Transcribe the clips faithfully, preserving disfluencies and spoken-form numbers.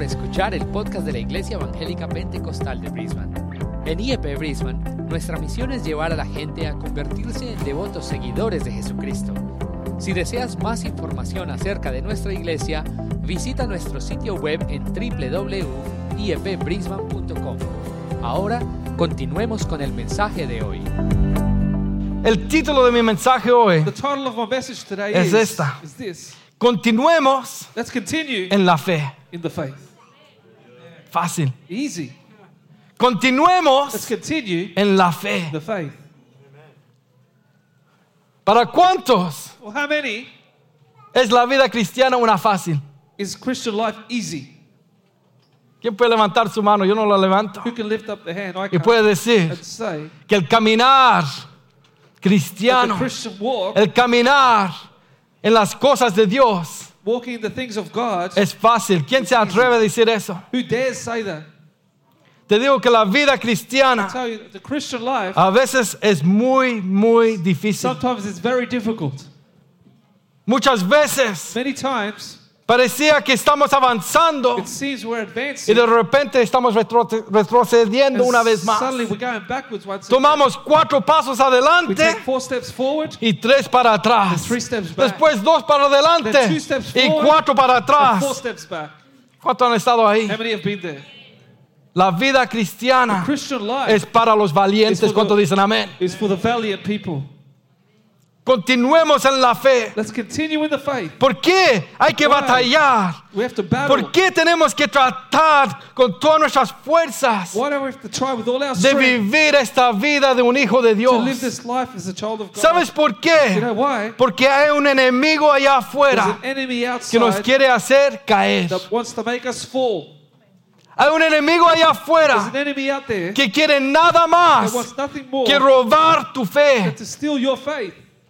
escuchar el podcast de la Iglesia Evangélica Pentecostal de Brisbane. En I E P Brisbane, nuestra misión es llevar a la gente a convertirse en devotos seguidores de Jesucristo. Si deseas más información acerca de nuestra iglesia, visita nuestro sitio web en doble u doble u doble u punto i e p brisbane punto com. Ahora, continuemos con el mensaje de hoy. El título de mi mensaje hoy The title of my message today es is, esta. is this. Continuemos Let's continue en la fe. in the faith. Fácil. Easy. Let's Continuemos continue en la fe. the faith. ¿Para cuántos Well, how many es la vida cristiana una fácil? is Christian life easy? ¿Quién puede levantar su mano? Yo no la levanto. Who can lift up the hand? I Y can. puede decir And say que el caminar that cristiano, the Christian walk, el caminar en las cosas de Dios walking in the things of God, es fácil. ¿Quién se atreve a decir eso? who dares say that? Te digo que la vida cristiana I tell you, that the Christian life, a veces es muy, muy difícil. sometimes it's very difficult. Muchas veces Many times, parecía que estamos avanzando it seems we're y advancing, de repente estamos retro- retrocediendo and una vez más. suddenly we're going backwards once again. Tomamos cuatro pasos We adelante take four steps forward, y tres para atrás. and three steps back, Después dos para adelante Then two steps y forward, cuatro para and four atrás. steps back. ¿Cuántos han estado ahí? How many have been there? La vida cristiana Christian life es para los valientes. is for ¿Cuántos the- dicen amén? is for the valiant people. Continuemos en la fe. Let's continue in the faith. ¿Por qué hay que Why? batallar? We have to battle. ¿Por qué tenemos que tratar con todas nuestras fuerzas Why do we have to try with all our de strength vivir esta vida de un hijo de to live Dios? this life as a child of God? ¿Sabes por You qué? know why? Porque hay un enemigo allá There's afuera an enemy que nos outside quiere hacer caer. that wants to make us fall. Hay un enemigo allá There's afuera an enemy out there que quiere nada that más wants nothing more que robar tu fe. than to steal your faith.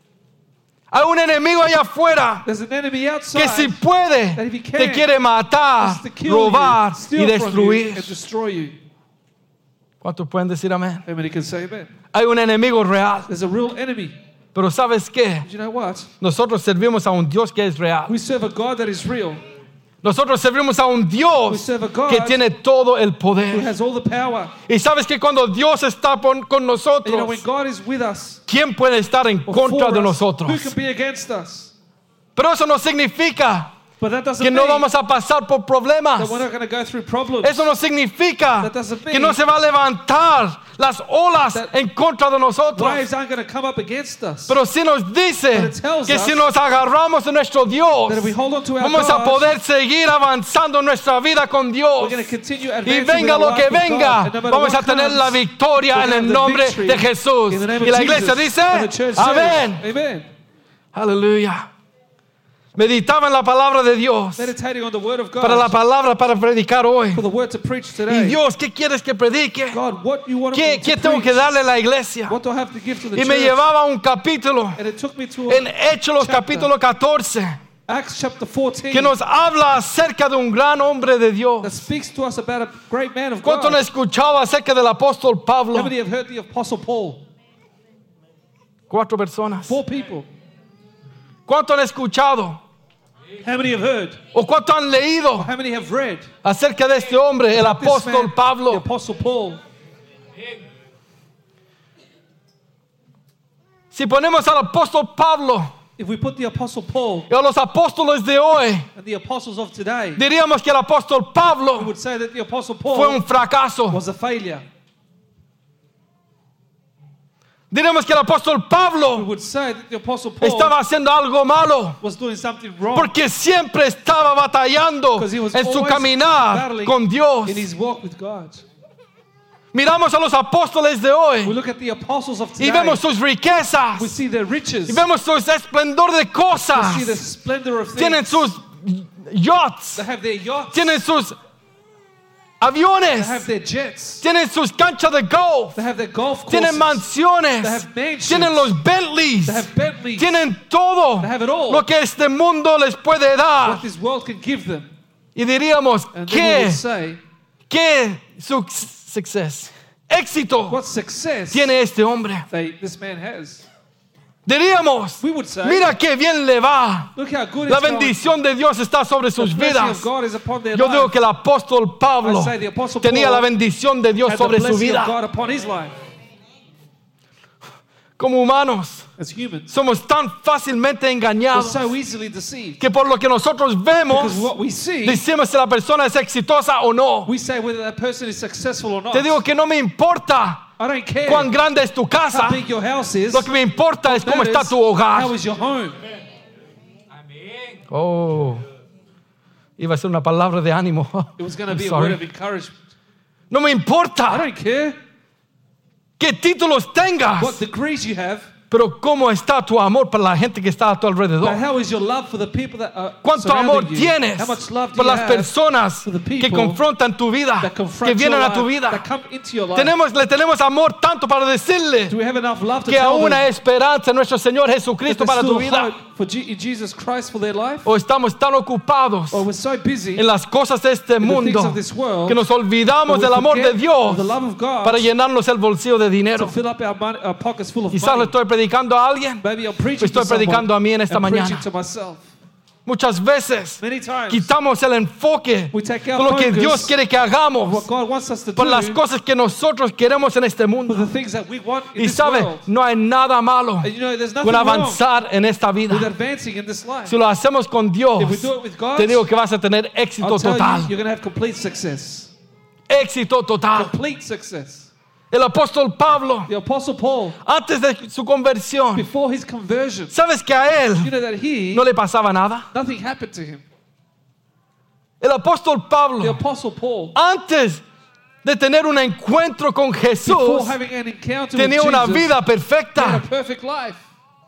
Hay un enemigo allá afuera There's an enemy que outside si puede that if he can, te quiere matar, wants to kill robar you, y steal from you, destruir. and destroy you. ¿Cuántos pueden decir amén? How many can say amen? Hay un enemigo real. There's a real enemy. Pero ¿sabes qué? But you know what? Nosotros servimos a un Dios que es real. We serve a God that is real, Nosotros servimos a un We Dios serve a God que tiene todo el who poder. has all the power. Y sabes que cuando Dios está pon- con And you know, when nosotros, God is with us, ¿quién puede estar en or contra for de us, who nosotros? can be against us? Pero eso no significa But that doesn't que no mean vamos a pasar por problemas. that we're not going to go through problems. Eso no significa That doesn't mean que no se va a levantar las olas that en contra de nosotros. Waves aren't going to come up against us. Pero sí nos But dice it tells que us si nos agarramos de nuestro Dios, that if we hold on to our vamos a God, poder seguir avanzando en nuestra vida con Dios. we're going to continue Y advancing venga with lo our que life with venga, God. And no matter vamos a what tener comes, la victoria we're en gonna el have the nombre victory de Jesús. in the name of Y la iglesia Jesus. dice, And the church says, amén. Amen. Aleluya. Meditaba en la palabra de Dios Meditating on the word of God. para la palabra para predicar hoy. For the word to preach Y today. Dios, ¿qué quieres que predique? God, what you want ¿Qué, me to qué tengo preach? que darle a la iglesia? What do I have to give to the Y me church? llevaba a un capítulo And it took me to a en Hechos chapter, capítulo catorce Acts chapter fourteen, que nos habla acerca de un gran hombre de that Dios. speaks to us about a great man of ¿Cuánto han God. escuchado acerca del apóstol Pablo? How many have heard the Apostle Paul? Cuatro personas. Four people. ¿Cuánto han escuchado? How many have heard? ¿O cuánto han leído How many have read? acerca de este hombre, el This apóstol man, the Pablo? Apostle Paul. Si ponemos al apóstol Pablo If we put the Apostle Paul y a los apóstoles de hoy, and the apostles of today, diríamos que el apóstol we Pablo would say that the Apostle fue Paul un fracaso. was a failure. Diríamos que el apóstol We Pablo would say that the Apostle Paul estaba haciendo algo malo was doing something wrong porque siempre estaba batallando because he was en su always caminar battling con Dios. in his walk with God. Miramos a los apóstoles de We hoy look at the apostles of y today. vemos sus riquezas We see their riches. y vemos su esplendor de We see the cosas. splendor of Tienen things. sus yachts, They have their yachts. tienen sus They aviones, have their jets. tienen sus canchas de golf, They have their golf courses. tienen mansiones, They have mansions. tienen los Bentleys, They have Bentleys. tienen todo They have it all. lo que este mundo les puede dar. What this world can give them. Y diríamos, And then we ¿qué, would say, qué su- success, éxito what success tiene este hombre? they, this man has? Diríamos, We would say, mira qué bien le va. look how good La it's going. bendición de Dios está sobre The sus blessing vidas. of God is upon their Yo digo life. que el apóstol Pablo I say the Apostle tenía Paul la bendición de Dios had the sobre su blessing of vida. God upon his life. Como humanos, As humans, somos tan fácilmente we're engañados so easily deceived. que por lo que nosotros vemos, Because what we see, decimos si la persona es exitosa o no. we say whether that person is successful or not. Te digo que no me importa I don't care cuán grande es tu how casa. big your house is. Lo que me importa es cómo está Matters tu hogar. how is your home. Oh, iba a ser una palabra de ánimo. It was going to I'm be a sorry. word of encouragement. No me I importa don't care qué títulos tengas, what degrees you have, pero cómo está tu amor para la gente que está a tu but alrededor. how is your love for the people that are ¿Cuánto surrounding amor you? tienes How much love do por you las have personas for the que people confrontan tu vida, that que confront your vienen a life, tu vida? that come into your life? Tenemos, le tenemos amor tanto para decirle Do we have enough love to que tell aún them hay esperanza en nuestro Señor that Jesucristo there's para tu still vida? hope for G- Jesus Christ for their life? ¿O estamos tan ocupados Or we're so busy en las cosas de este in the things mundo of this world que nos olvidamos that we del amor de forget Dios of the love of God para llenarnos el bolsillo de to dinero? fill up our, money, our pockets full of Quizás le money? estoy predicando a alguien. Maybe I'm preaching Estoy to someone predicando a mí en esta and mañana. preaching to myself. Muchas veces Many times quitamos el enfoque we take our con lo que focus Dios quiere que of hagamos what God wants us to por do las cosas que nosotros queremos en este for mundo. the things that we want in Y this sabe, world. no hay nada malo And you know, there's nothing con wrong avanzar en esta with vida. advancing in this life. Si lo hacemos con Dios, If we do it with God, te digo que vas a tener éxito I'll tell you, total. you're going to have complete success. Éxito total. Complete success. El apóstol Pablo, The Apostle Paul, antes de su conversión, before his conversion, ¿sabes que a él you know that he, no le pasaba nada? nothing happened to him. El apóstol The Pablo, Apostle Paul, antes de tener un encuentro con before Jesús, having an encounter tenía with una Jesus, vida he had a perfecta. perfect life.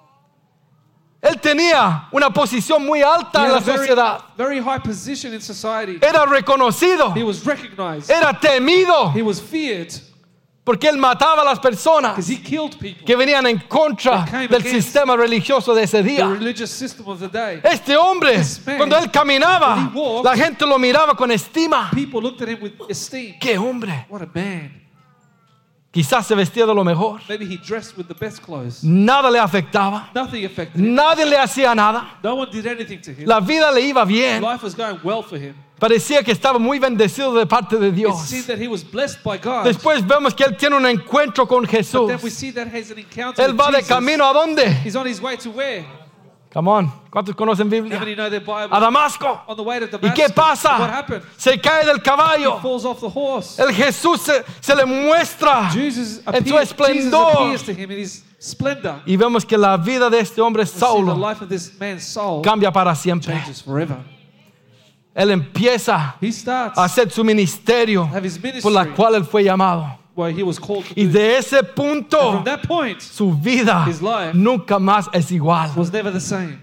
Él tenía una posición muy He alta en had la a very, sociedad. very high position in society. Era reconocido, He was recognized. era temido, He was feared porque él mataba a las personas because he killed people. que venían en contra That came del against sistema religioso de ese The día. religious system of the day. Este hombre, This man, cuando él caminaba, when he walked, la gente lo miraba con estima. People looked at him with esteem. ¡Qué hombre! What a man. Quizás se vestía de lo mejor. Maybe he dressed with the best clothes. Nada le afectaba. Nothing affected him. Nadie le hacía nada. No one did anything to him. La vida le iba bien. Life was going well for him. Parecía que estaba muy bendecido de parte de It Dios. seemed that he was blessed by God. Después vemos que él tiene un encuentro con But then we Jesús. see that he has an encounter Él with va de Jesus. camino a dónde? He's on his way to where? Come on. ¿Cuántos conocen How Biblia? many know their Bible? A Damasco. On the way to ¿Y Damascus. qué What pasa? happened? Se cae del He caballo. falls off the horse. El Jesús se, se le muestra Jesus en su appears, Jesus esplendor. appears to him in his splendor. Y vemos que la vida de este hombre We see the Saulo life of this man's soul cambia para siempre. changes forever. Él empieza He starts a hacer su ministerio have his ministry por la cual él fue llamado. where he was called to Y do. de ese And punto, from that point, su vida his life nunca más es igual. was never the same.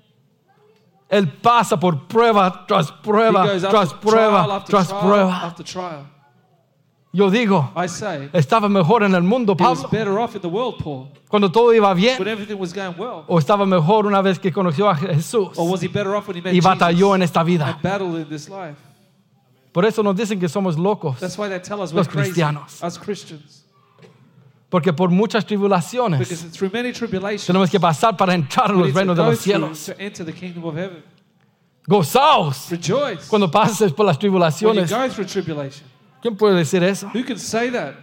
Él pasa por prueba tras He prueba, goes tras after trial prueba, after tras trial prueba. after trial. Yo digo, I say, estaba mejor en el mundo, he was Pablo, better off in the world, Paul, cuando todo iba when bien. everything was going well. O estaba mejor una vez que conoció a Jesús Or was he better off when he met y batalló Jesus en esta vida. and battled in this life? Por eso nos dicen que somos locos. That's why they tell us we're Los crazy, cristianos. us Christians. Porque por muchas tribulaciones Because through many tribulations, tenemos que pasar para entrar en we los need to reinos de go los through cielos. to enter the kingdom of heaven. Gozaos Rejoice cuando pases por las when you tribulaciones. go through tribulation. ¿Quién puede decir eso? Who can say that?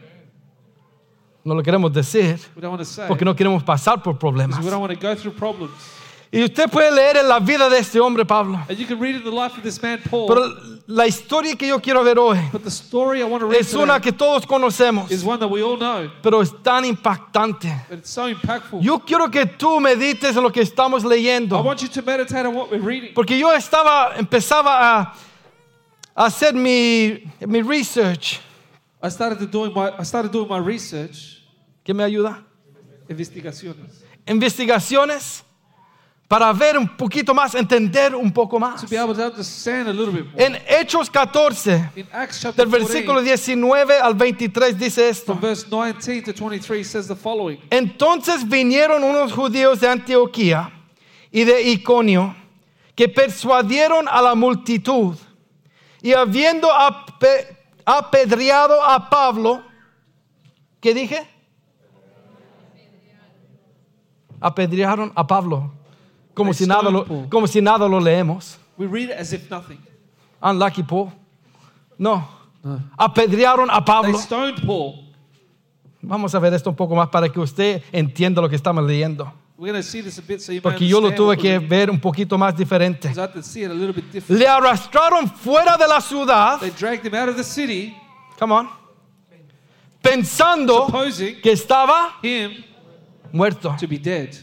No lo queremos decir We don't want to say. porque no queremos pasar por problemas. Because we don't want to go through problems. Y usted puede leer en la vida de este hombre, Pablo. And you can read in the life of this man, Paul. Pero la historia que yo quiero ver hoy But the story I want to read es una today que todos conocemos, is one that we all know. pero es tan impactante. But it's so impactful. Yo quiero que tú medites en lo que estamos I leyendo. want you to meditate on what we're reading. Porque yo estaba, empezaba a, a hacer mi, mi research. I started to doing my I started doing my research, ¿Quién me ayuda? investigaciones, Investigaciones para ver un poquito más, entender un poco más. to be able to understand a little bit more. En Hechos catorce, In Acts chapter del versículo fourteen, diecinueve al veintitrés, dice esto. from verse nineteen to twenty-three, says the following. Entonces vinieron unos judíos de Antioquía y de Iconio que persuadieron a la multitud y habiendo ape- apedreado a Pablo, ¿qué dije? apedrearon a Pablo. Como They si, nada stoned lo, Paul. como si nada lo leemos. We read it as if nothing. Unlucky Paul. No. No. Apedrearon a They Pablo. stoned Paul. Vamos a ver esto un poco más para que usted entienda lo que estamos leyendo. We're going to see this a bit so you may Porque yo lo understand tuve what que we're reading. ver un poquito más diferente. Because I had to see it a little bit different. Le arrastraron fuera de la ciudad. They dragged him out of the city, Come on. Pensando supposing que estaba him muerto. to be dead.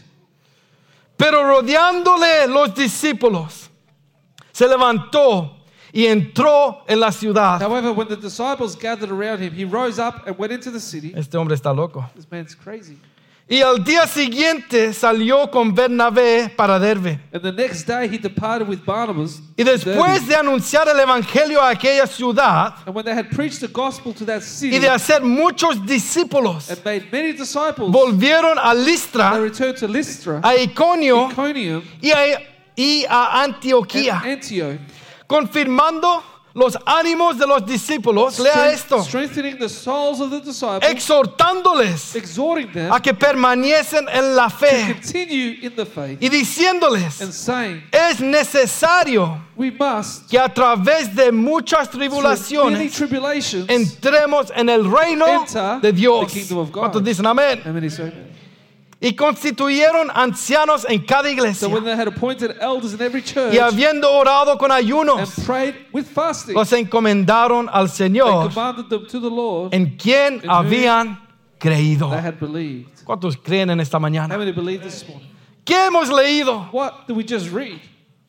Pero rodeándole los discípulos, se levantó y entró en la ciudad. However, when the disciples gathered around him, he rose up and went into the city. Este hombre está loco. This man's crazy. Y al día siguiente salió con Bernabé para Derbe. And the next day he departed with Barnabas. Y después de anunciar el evangelio a aquella ciudad And when they had preached the gospel to that city y de hacer muchos discípulos, and made many disciples, volvieron a they Listra, returned to Lystra, a Iconio Iconium, y a, y a and Antioquía, Antioch, confirmando los ánimos de los discípulos. Lea strength- esto. strengthening the souls of the disciples, Exhortándoles exhorting them a que permanecen en la to fe continue in the faith, y diciéndoles, and saying, es necesario we must, que a través de muchas through many tribulaciones tribulations, entremos en el reino enter de Dios. the kingdom of God. ¿Cuántos dicen amén? and many say, Y constituyeron ancianos en cada iglesia. so when they had appointed elders in every church Y habiendo orado con and ayunos, prayed with fasting, los encomendaron al they Señor commanded them to the Lord, en quien whom habían creído. they had believed. ¿Cuántos creen en esta How mañana? many believe this morning? ¿Qué hemos leído? What did we just read?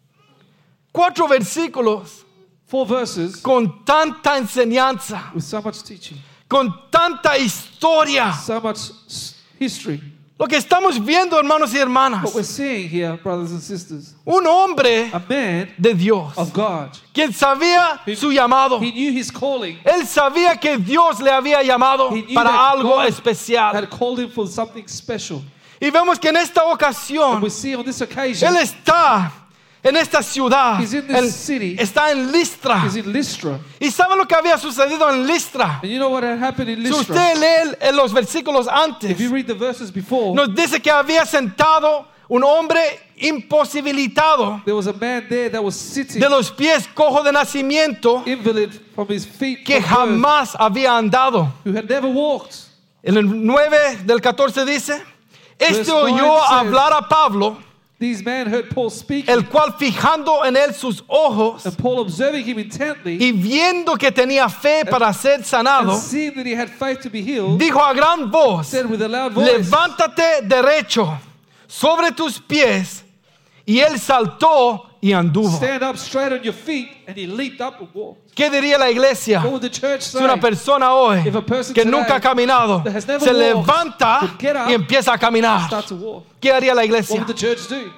Cuatro versículos Four verses con tanta enseñanza, with so much teaching, con tanta historia. so much s- history. Lo que estamos viendo, hermanos y hermanas, What we're seeing here, brothers and sisters, un hombre a man de Dios, of God. quien sabía He- su llamado. He knew his calling, Él sabía que Dios le había llamado He knew para that algo God especial. had called him for something special. Y vemos que en esta And ocasión, we see on this occasion, Él está en esta ciudad. He's in this Él city. está en Listra. he's in Lystra. ¿Y sabe lo que había sucedido en Listra? And you know what had happened in Si Lystra? usted lee en los versículos antes, If you read the verses before, nos dice que había sentado un hombre imposibilitado, there was a man there that was sitting, de los pies cojo de nacimiento, invalid from his feet, que from birth, jamás había andado. who had never walked. En el nueve del catorce dice, este Verse oyó nine says, hablar a Pablo, These men heard Paul speaking, el cual fijando en él sus ojos and Paul observing him intently, y viendo que tenía fe para ser and sanado, seeing that he had faith to be healed, dijo a gran voz, said with a loud voice, levántate derecho sobre tus pies. Y él saltó y anduvo. stand up straight on your feet, and he leaped up and walked. ¿Qué diría la iglesia? What would the church Si say? una persona hoy If a person que today nunca ha caminado that has never se walked levanta would get up y empieza a caminar, Start to walk. ¿qué haría la What iglesia? would the church do?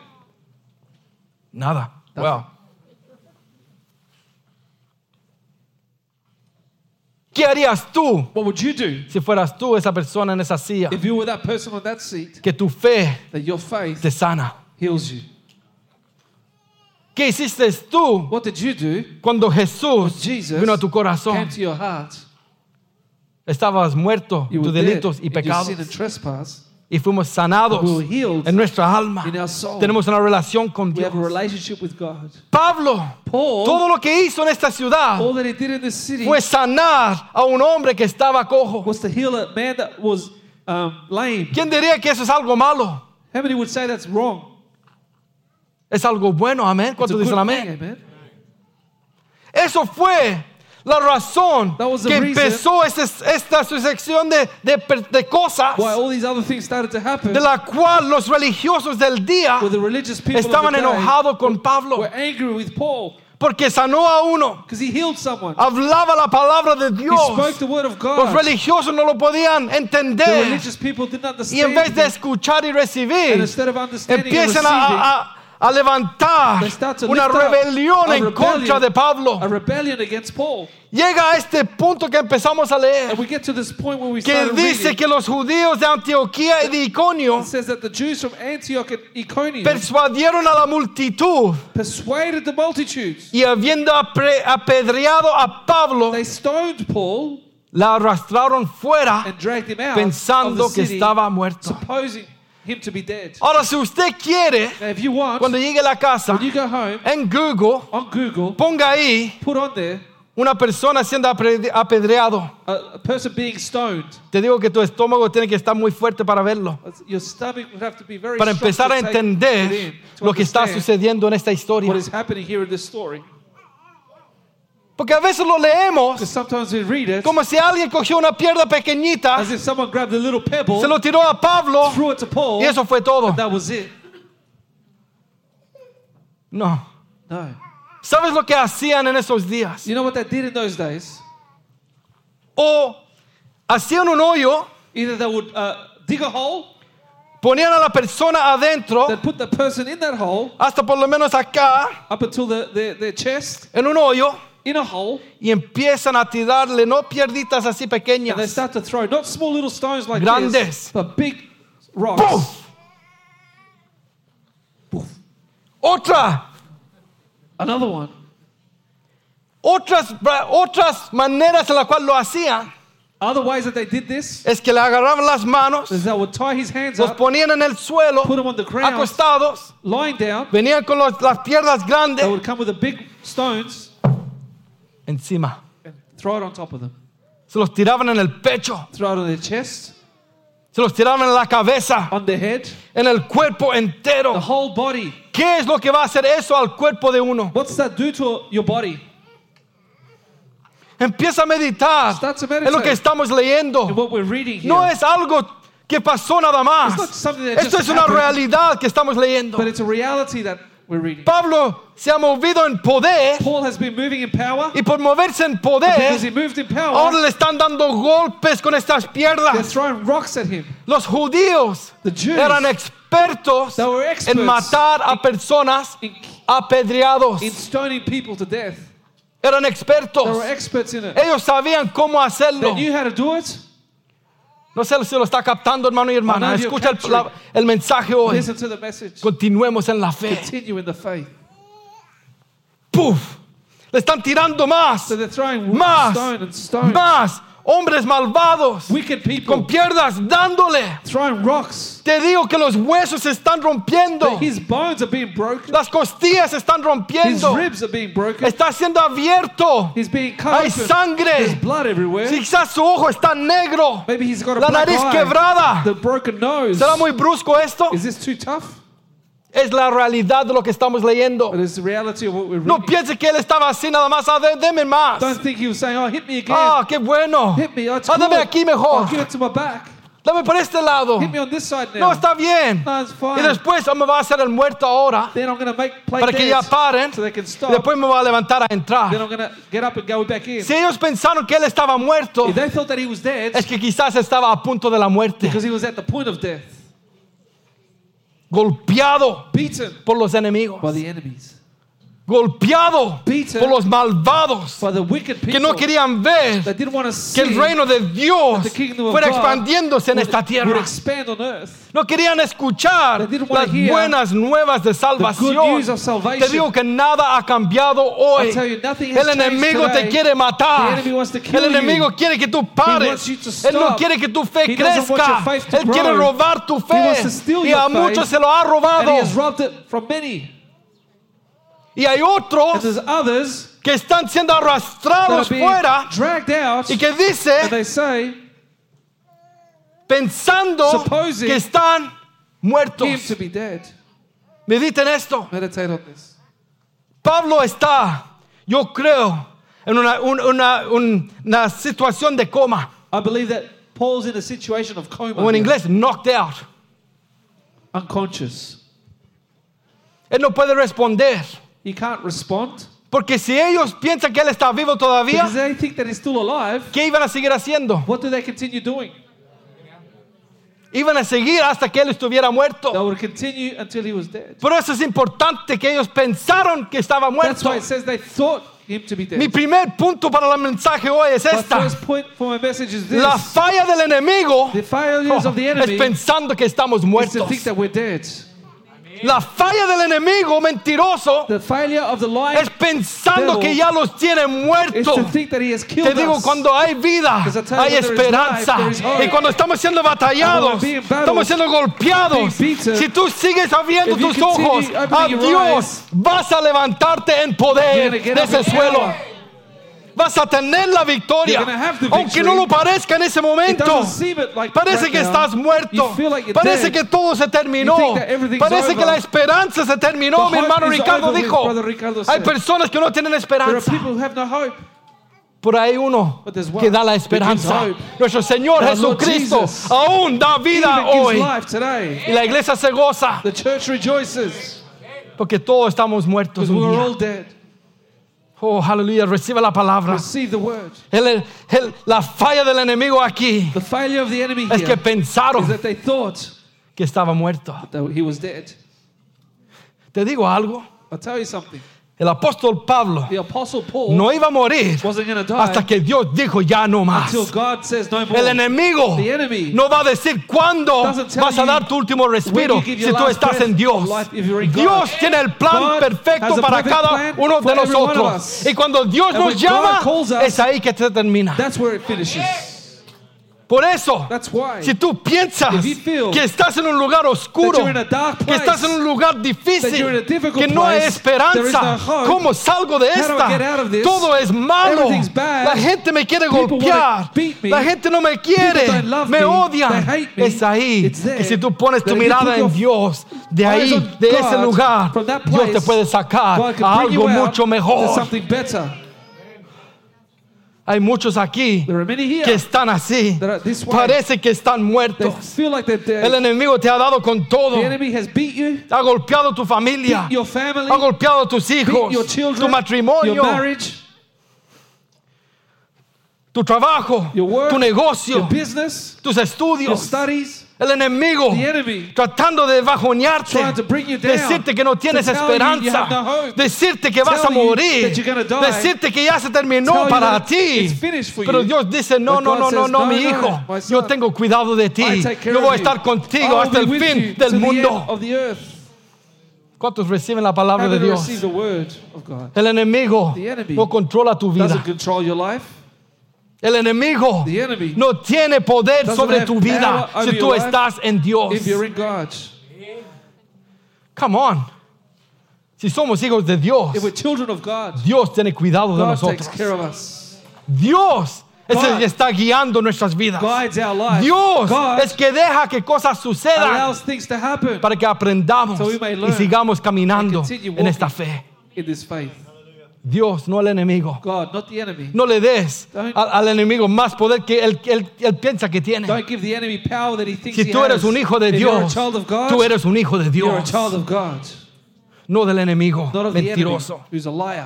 Nada. Well, ¿qué harías tú What would you do si fueras tú esa persona en esa silla? if you were that person on that seat, Que tu fe that your faith te sana. heals you? ¿Qué hiciste tú What did you do? cuando Jesús Jesus vino a tu corazón? came to your heart. Estabas muerto You en were tus dead delitos y in your pecados sin and trespass. y fuimos sanados We were healed en nuestra alma. in our soul. Tenemos una relación con We Dios. have a relationship with God. Pablo, Paul, todo lo que hizo en esta ciudad all that he did in this city fue sanar a un hombre que estaba cojo. was to heal a man that was um, lame. ¿Quién diría que eso es algo malo? How many would say that's wrong? Es algo bueno, amén. It's a ¿Cuántos good dicen thing, amén? amen. Eso fue la razón That was the que reason empezó esta, esta sucesión de, de, de cosas Why all these other things started to happen, de la cual los religiosos del día where the religious people estaban of the day enojados con Pablo were angry with Paul porque sanó a uno, because he healed someone. hablaba la palabra de He spoke Dios. the word of Los God. religiosos no lo podían The entender religious people didn't y en understand vez de it. escuchar y And recibir, instead of understanding and empiezan receiving, a, a- a levantar they start to una lift up rebelión a en contra rebellion, de Pablo. a rebellion against Paul. Llega a este punto que empezamos a And leer, we get to this point where we que start dice reading. que los judíos de Antioquía y de Iconio It says that the Jews from Antioch and Iconium persuadieron a la multitud persuaded the multitudes. y habiendo apre- apedreado a Pablo, They stoned Paul la arrastraron fuera and dragged him out pensando of the que city, estaba muerto. supposing him to be dead. Ahora, si usted quiere, Now, if you want, cuando llegue a la casa, when you go home, en Google, on Google, ponga ahí put on there una persona siendo apre- apedreado. a, a person being stoned. Te digo que tu estómago tiene que estar muy fuerte para verlo, Your stomach would have to be very para strong empezar to a take it entender in, to lo que está understand sucediendo en esta historia. what is happening here in this story. Porque a veces lo leemos Because sometimes we read it como si alguien cogió una piedra pequeñita, as if someone grabbed a little pebble, se lo tiró a Pablo threw it to Paul, y eso fue todo. and that was it. No. No. ¿Sabes lo que hacían en esos días? You know what they did in those days? O hacían un hoyo, Either they would uh, dig a hole, ponían a la persona adentro, they'd put the person in that hole, hasta por lo menos acá, up until the, the, their chest, en un hoyo, in a hole, y empiezan a tirarle, no pierditas así and they pequeñas, start to throw not small little stones like Grandes. this, but big rocks. ¡puf! Otra, Another one. otras, otras maneras en las cuales lo hacían Other ways that they did this es que le agarraban las manos, is they would tie his hands los up, ponían en el suelo, put him on the ground, acostados, lying down. venían con los- las piernas They grandes would come with the big stones encima, and throw it on top of them. se los tiraban en el pecho, Throw it on their chest, se los tiraban en la cabeza, on their head, en el cuerpo the entero. whole body. ¿Qué es lo que va a hacer eso al cuerpo de uno? What's that do to your body? Empieza a meditar Start to en lo que meditate estamos leyendo. in what we're reading here. No es algo que pasó nada más. It's not something that Esto just es una happened. realidad que estamos leyendo. But it's a reality that we're reading. Pablo se ha movido en poder Paul has been moving in power. y por moverse en Because he poder, moved in ahora power, le están dando golpes con estas they're piernas. throwing rocks at him. Los judíos The Jews, eran expertos they were experts en matar a personas in, apedreados. in stoning people to death. Eran They expertos. were experts in it. Ellos sabían cómo They hacerlo. knew how to do it. No sé si lo está captando, hermano y hermana. I know you're Escucha el, capturing. la- el mensaje hoy. Listen to the message. Continuemos en la fe. Continue in the faith. ¡Puf! Le están tirando más, So they're throwing más, stone and stone. más. Hombres malvados Wicked people con piernas dándole. throwing rocks. Te digo que los huesos se están rompiendo. His bones are being broken. Las costillas se están His rompiendo. ribs are being broken. Está siendo abierto. He's being cut Hay open. sangre. There's blood everywhere. Quizás su ojo está negro. Maybe he's got a La black nariz eye. quebrada. The broken nose. ¿Será muy brusco esto? Is this too tough? Es la realidad de lo que estamos leyendo. But it's the reality of what we're No reading. piense que él estaba así nada más. Ah, dé- deme más. Don't think he was saying, oh, hit me again. Ah, qué bueno. Hit me. Oh, it's Ah, dame good. aquí mejor. I'll give it to my back. Dame por este lado. Hit me on this side No, now. está bien. No, it's fine. Y después ah, me va a hacer el muerto ahora Then I'm going to make play para que ya dance paren. so they can Y stop. después me va a levantar a Then entrar. I'm going to get up and go back in. Si ellos pensaron que él estaba muerto, If they thought that he was dead, es que quizás estaba a punto de la muerte. because he was at the point of death, Golpeado beaten por los enemigos. by the enemies, Golpeado Beaten por los malvados by the wicked que people no querían ver that didn't want to que see el reino de Dios the kingdom of fuera God expandiéndose en would, esta would tierra. expand on earth. No querían escuchar They didn't wanna las hear buenas nuevas de The good salvación. news of salvation. Te digo que nada ha cambiado hoy. I'll tell you, nothing has El enemigo changed te today. quiere matar. The enemy wants to kill El enemigo you. quiere que tú He pares. wants you to Él no stop. quiere que tu fe He doesn't want crezca. your faith to Él quiere grow. robar tu He fe. wants to steal Y your a faith. muchos se lo ha And robado. he has robbed it from many. Y hay And otros there's others que están siendo that are arrastrados being fuera dragged out, y que and dice, they say pensando supposing que están him muertos. to be dead. Mediten esto. Meditate on this. Pablo está, yo creo, en una, un- una, un- una situación de coma. I believe that Paul's in a situation of coma, O en here, inglés, knocked out. unconscious. Él no puede responder. He can't respond Porque si ellos piensan que él está vivo todavía, because they think that he's still alive. ¿qué iban a seguir haciendo? What do they continue doing? Iban a seguir hasta que él estuviera They muerto. would continue until he was dead. Por eso es importante que ellos pensaron que estaba That's muerto. why it says they thought him to be dead. Mi primer punto para el mensaje hoy es My esta. first point for my message is this. La falla del enemigo The failures oh, of the es enemy pensando que estamos is to muertos. think that we're dead. La falla del enemigo mentiroso The failure of the lying es pensando devil que ya los tiene is muertos. to think that he has killed Te digo, us. cuando hay vida, Because I tell you, hay when there is esperanza. life, there is hope. Y cuando estamos siendo batallados, And when we're being battled, estamos siendo golpeados, being beaten, si tú sigues abriendo if you tus continue ojos opening a your Dios, eyes, vas a levantarte en you're poder gonna get de up ese in suelo. power. Vas a tener la victoria, You're gonna have the aunque victory. no lo parezca en ese It momento. doesn't seem it like Parece right que now. estás muerto. You feel like you're Parece dead. que todo se terminó. You think that everything's Parece que over. la esperanza se terminó. The Mi hermano hope is Ricardo over, dijo. Brother Ricardo Hay said. personas que no tienen There are esperanza. people who have no hope. Por ahí uno But there's one que da la that gives esperanza. hope. Nuestro Señor Our Lord Jesucristo Jesus aún da vida Even gives hoy. life today. Y la iglesia se goza The church rejoices porque todos estamos muertos because un we're día. all dead. Oh, aleluya, recibe la palabra. Receive the word. El- el- la falla del enemigo aquí The failure of the enemy es que here pensaron is that they thought que estaba muerto. that he was dead. Te digo algo. I'll tell you something. El apóstol Pablo The apostle Paul no iba a morir wasn't going to die hasta que Dios dijo ya no más. until God says no more. El enemigo The enemy no va a decir cuándo doesn't tell vas a you dar tu último respiro when you give your si tú last estás breath en Dios. of life if you're in God. Dios tiene el plan God perfecto has a para perfect cada plan uno de for every one of nosotros. us. Y cuando Dios And nos when llama, God calls us, es ahí que se termina. That's where it finishes. Por eso, That's why. si tú piensas If you feel que estás en un lugar oscuro, that you're in a dark que place, estás en un lugar that difícil, you're in a difficult que no hay place, there is esperanza, no hope, ¿cómo salgo de how do esta? I get out of this? Todo es malo. Everything's bad. La gente me quiere People golpear. wanna beat me. La gente no me quiere. People don't love Me me. odian. They hate me. Es ahí It's there. que si tú pones tu That if you mirada put en your Dios, de eyes ahí, on de God, ese lugar, from that Dios te place, puede sacar God can a bring algo you out mucho to mejor. something better. Hay muchos aquí There are many here que están así. that are this way. Parece que están They muertos. feel like they're dead. El enemigo te ha dado con todo. The enemy has beat you, Ha golpeado tu familia. beat your family, Ha golpeado tus beat hijos. your children, Tu matrimonio. your marriage, Tu trabajo. your work, Tu negocio. your business, Tus your estudios. studies. El enemigo. The enemy Tratando de bajonearte. trying to bring you down, Decirte que no tienes to tell you you esperanza. have no hope, Decirte que vas a tell you morir. that you're gonna die, Decirte que ya se terminó tell you para that ti. it's finished for Pero you. Dios dice, no, But no, God no, no, says, no, no, mi no, hijo. my Yo son. tengo cuidado de ti. I take care Yo of voy a you. estar contigo I'll hasta be el with fin you del to the end mundo. of the earth. ¿Cuántos reciben la palabra How de do you Dios? receive the word of God? El enemigo The enemy no controla tu vida. Doesn't control your life. El enemigo The enemy no tiene poder doesn't sobre have tu vida power si over tú your life estás en Dios. if you're in God. Come on. Si somos hijos de Dios, If we're children of God, Dios tiene cuidado de God takes nosotros. care of us. Dios es el God que está guiando nuestras vidas. Guides our life. Dios God es que deja que cosas sucedan allows things to happen para que aprendamos So we may y learn sigamos caminando and continue en esta walking. fe. in this faith. Dios, no el enemigo. God, not the enemy. No le des Don't- al, al enemigo más poder que él, él- él piensa que tiene. Don't give the enemy power that he thinks Si he tú eres has. un hijo de If you're a Dios, child of God, tú eres un hijo de you're a Dios, child of God, no del enemigo not of the enemy, mentiroso. who's a liar.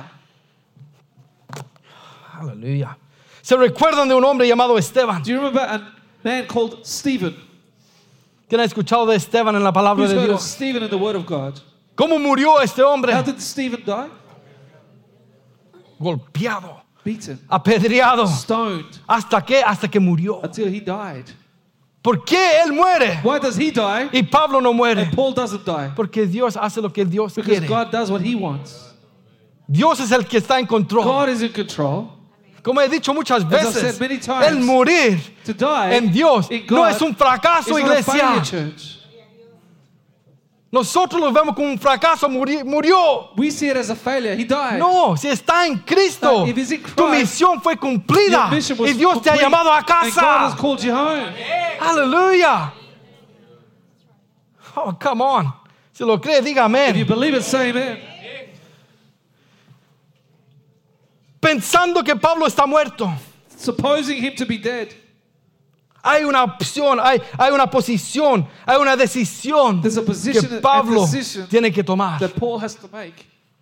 Aleluya. Se recuerdan de un hombre llamado Esteban. Do you remember a man called Stephen? ¿Quién ha escuchado de Esteban en la palabra Who's de heard of Dios? Stephen in the Word of God? ¿Cómo murió este hombre? How did Stephen die? Golpeado, Beaten, apedreado. stoned, ¿Hasta qué? Hasta que murió. until he died. ¿Por qué él muere Why does he die y Pablo no muere? and Paul doesn't die? Porque Dios hace lo que Dios Because quiere. God does what he wants. Dios es el que está en control. God is in control. Como he dicho muchas I've veces, said many times, el morir To die en Dios in no God es un fracaso, is not a failure, iglesia. church. Nosotros lo vemos como un fracaso, muri- murió. We see it as a failure. He died. No, si está en Cristo, No, if he's in tu Christ, misión fue cumplida Your mission was y Dios te ha complete, llamado a and God has casa. called you home. Aleluya. Oh, come on. Si lo cree, diga If you amén. believe it, say amen. Pensando que Pablo está muerto, Supposing him to be dead, hay una opción, hay, hay una posición, hay una decisión there's a position que and Pablo decision tiene que tomar. that Paul has to make.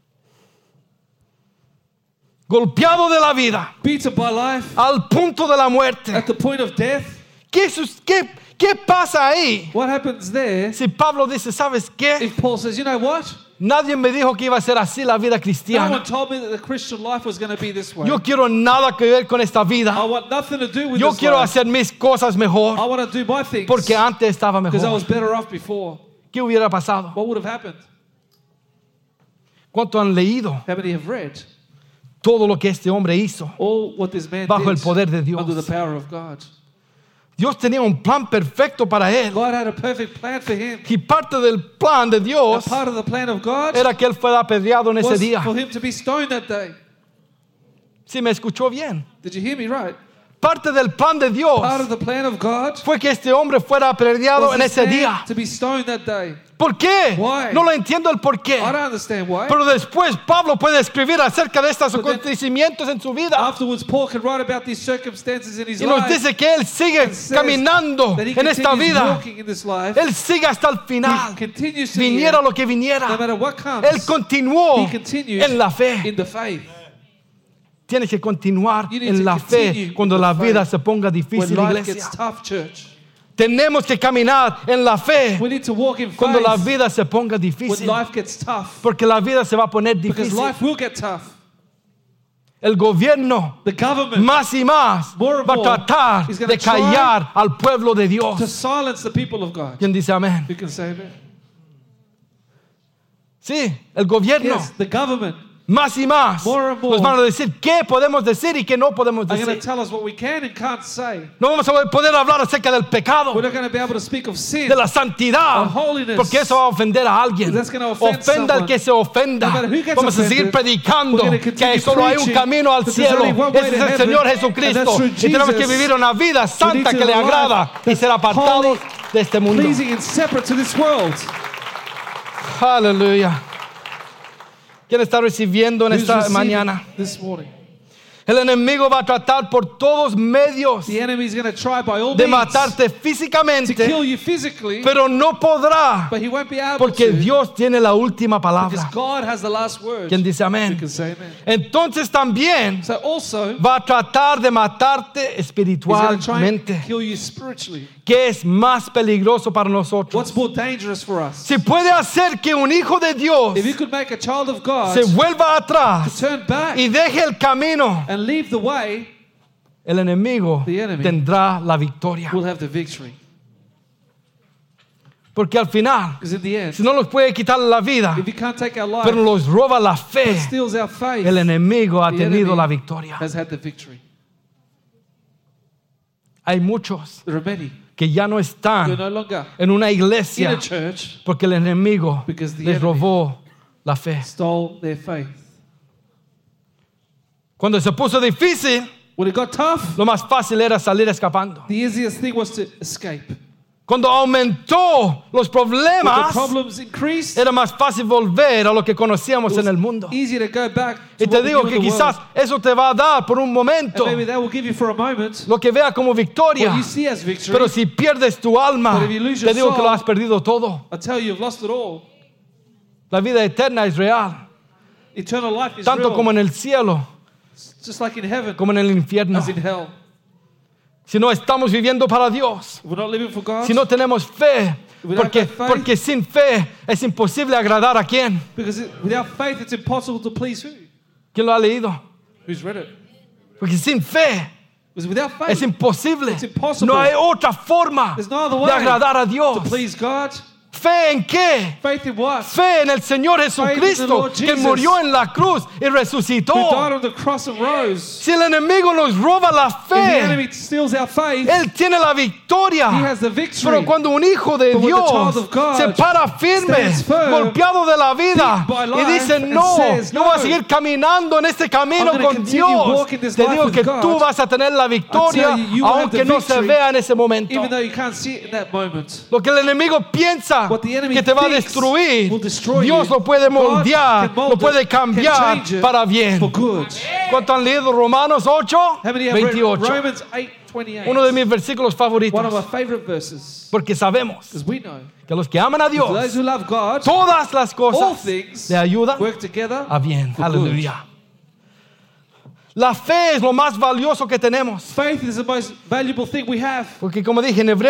Golpeado de la vida, Beaten by life, al punto de la muerte. at the point of death. ¿Qué, sus- qué, qué pasa ahí? What happens there Si Pablo dice, ¿sabes qué? if Paul says, you know what? Nadie me dijo que iba a ser así la vida No cristiana. one told me that the Christian life was going to be this way. Yo quiero nada que ver con esta I vida. want nothing to do with Yo this quiero life. hacer mis cosas I mejor want to do my things porque antes estaba because I was mejor. better off before. ¿qué hubiera pasado? what would have happened? ¿Cuánto han leído How many have read todo lo que este hombre hizo all what this man bajo el did poder de Dios? under the power of God? Dios tenía un plan perfecto para él. God had a perfect plan for him. Y parte del plan de A Dios part of the plan of God era que él fuera apedreado en ese was día. for him to be stoned that day. Si me escuchó bien. Did you hear me right? Parte del plan de Dios Part of the plan of God fue que este hombre fuera apedreado was en this ese man día. to be stoned that day. ¿Por qué? Why? No lo entiendo el por qué. I don't understand why. Pero después Pablo puede escribir acerca de estos But then- acontecimientos en su vida. Afterwards, Paul can write about these circumstances in his Y nos life. dice que él sigue and says caminando that he en esta continues vida. walking in this life. Él sigue hasta el final. He continues to the Viniera end. lo que No viniera. matter what comes, Él continuó he continues en la fe. in the faith. Tienes que continuar You need en to la continue fe in cuando the la faith. vida se ponga When difícil, life iglesia. gets tough, church, Tenemos que caminar en la fe we need to walk in cuando la faith vida se ponga when difícil. life gets tough. Porque la vida se va a poner Because difícil. life will get tough. El gobierno The government más y más More and va a more tratar is gonna de callar al pueblo de to Dios. silence the people of God. ¿Quién dice amén? Who can say amen? Sí, el gobierno Yes, the government más y más More and more nos van a decir qué podemos decir y qué no podemos are going to decir. tell us what we can and can't say. No vamos a poder hablar acerca del pecado, We're not going to be able to speak of sin. de la santidad, of holiness. porque eso va a ofender a alguien. That's gonna offend Ofenda al someone. que se ofenda. No matter who gets Vamos a seguir offended, predicando we're gonna continue que solo hay un preaching camino al that there's cielo. only one way Ese to es el heaven, Señor and Jesucristo. that's through Y tenemos que Jesus. vivir una vida We santa need to que le live a agrada life y ser that's apartados holy, de este mundo. pleasing and separate to this world. Aleluya. ¿Quién está recibiendo en Who's esta receiving mañana? this morning? El enemigo va a tratar por todos medios The enemy is going to try by all de means matarte to físicamente, kill you physically, pero no podrá, but he won't be able porque to Dios tiene la última because palabra. God has the last word. ¿Quién dice You amén? can say amen. Entonces también So also, va a tratar de matarte he's going to try and espiritualmente, kill you spiritually. que es más peligroso para nosotros. What's more dangerous for us? Si puede hacer que un hijo de Dios If you could make a child of God se vuelva atrás turn back y deje el camino, and leave the way, el enemigo The enemy tendrá la victoria. we'll have the victory. Porque al final, Because in the end, si no nos puede quitar la vida, if you can't take our life, pero nos roba la fe, it steals our faith, el enemigo ha the tenido enemy la victoria. has had the victory. Hay muchos There are many que ya no who are están no longer en una in iglesia a church porque el enemigo Because the les enemy robó la fe. stole their faith. Cuando se puso difícil, When it got tough, lo más fácil era salir escapando. the easiest thing was to escape. Cuando aumentó los When the problemas, problems increased, era más fácil volver a lo que it conocíamos was en el mundo. easier to go back to Y te what we digo knew que in the quizás world. eso te va a dar por un momento And maybe that will give you for a moment lo que vea como victoria. what you see as victory. Pero si pierdes tu alma, But if you lose te your digo que lo soul, has perdido todo. I tell you, you've lost it all. La vida eterna es real, Eternal life is tanto real, como en el cielo just like in heaven, como en el infierno. as in hell. Si no estamos viviendo para Dios, If we're not living for God, si no tenemos fe, we don't porque, have faith, porque sin fe es imposible agradar a quién. because it, without faith, it's impossible to please who? ¿Quién lo ha leído? Who's read it? Porque sin fe Because without faith, es imposible. It's impossible. No hay otra forma there's no other de way agradar a Dios. to please God. ¿Fe en qué? Faith in what? Fe en el Señor in the Jesucristo, Lord que Jesus, murió en la cruz y Who died resucitó. on the cross and rose. Si el enemigo nos roba la If the fe, enemy steals our faith, Él tiene la victoria. he has the victory. Pero cuando un hijo de But when the Dios child of God se para firme, stands firm, golpeado de la vida, beat by y life, dice, and no, says, yo voy a "No, seguir caminando en este camino I'm gonna con continue Dios, walking this te life digo with que God. tú vas a tener la victoria, I tell you, you will have aunque the no se victory, vea en ese momento. even though you can't see it in that moment. Lo que el enemigo piensa What the enemy que te va a thinks destruir, will destroy Dios you. lo puede God moldear, can mold lo puede it, can cambiar change it para bien. For good. ¿Cuánto han leído Romanos ocho? How many have read veintiocho. Romans eight twenty-eight? Uno de mis versículos favoritos. One of my favorite verses. Porque sabemos Because we know que los que aman a for those Dios, who love God, todas las all cosas things le ayudan work together a bien. for good. Aleluya. La fe es lo más valioso que tenemos. Faith is the most valuable thing we have. Porque como dije en Hebreos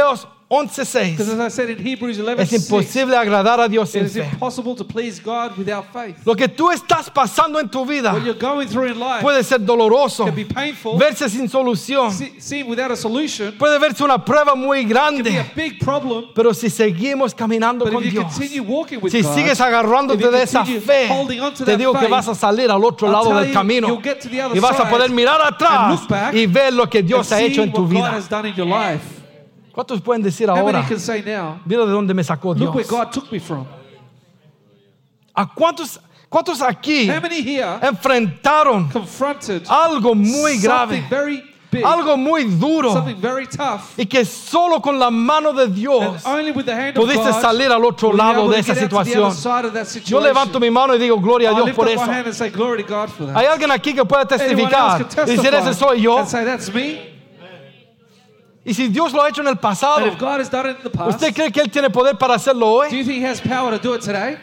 once Because seis, as I said in Hebrews eleven es six, imposible agradar a Dios it sin is fe. impossible to please God without faith. Lo que tú estás pasando en tu vida What you're going through in life puede ser doloroso, can be painful, verse sin solución, se- seem without a solution, puede verse una prueba muy can be grande. a big problem. Pero si seguimos caminando But con if you Dios, continue walking with si God, sigues if agarrándote you de esa continue fe, holding on to te that digo que faith, vas a salir al otro I'll lado tell del you, camino you'll get to the other y vas a side poder mirar and atrás look back y ver lo que and Dios ha see hecho en tu what God vida. has done in your life. ¿Cuántos pueden decir How ahora? many can say now, Mira de dónde me sacó look where Dios. God took me from? ¿A cuántos, cuántos aquí How many here enfrentaron confronted algo muy grave, something very big, algo muy duro, something very tough, y que solo con la mano de and Dios only with the hand of pudiste God salir al otro were you lado able de to esa get out to the other situación? side of that Yo situation? levanto mi mano y digo gloria a I Dios lift por up my eso. hand and say glory to God for that. ¿Hay alguien aquí que pueda Anyone else testificar can y decir ese soy yo? and say that's me? Y si Dios lo ha hecho en el pasado, And if God has done it in the past, ¿usted cree que Él tiene poder para hacerlo do hoy? you think He has power to do it today?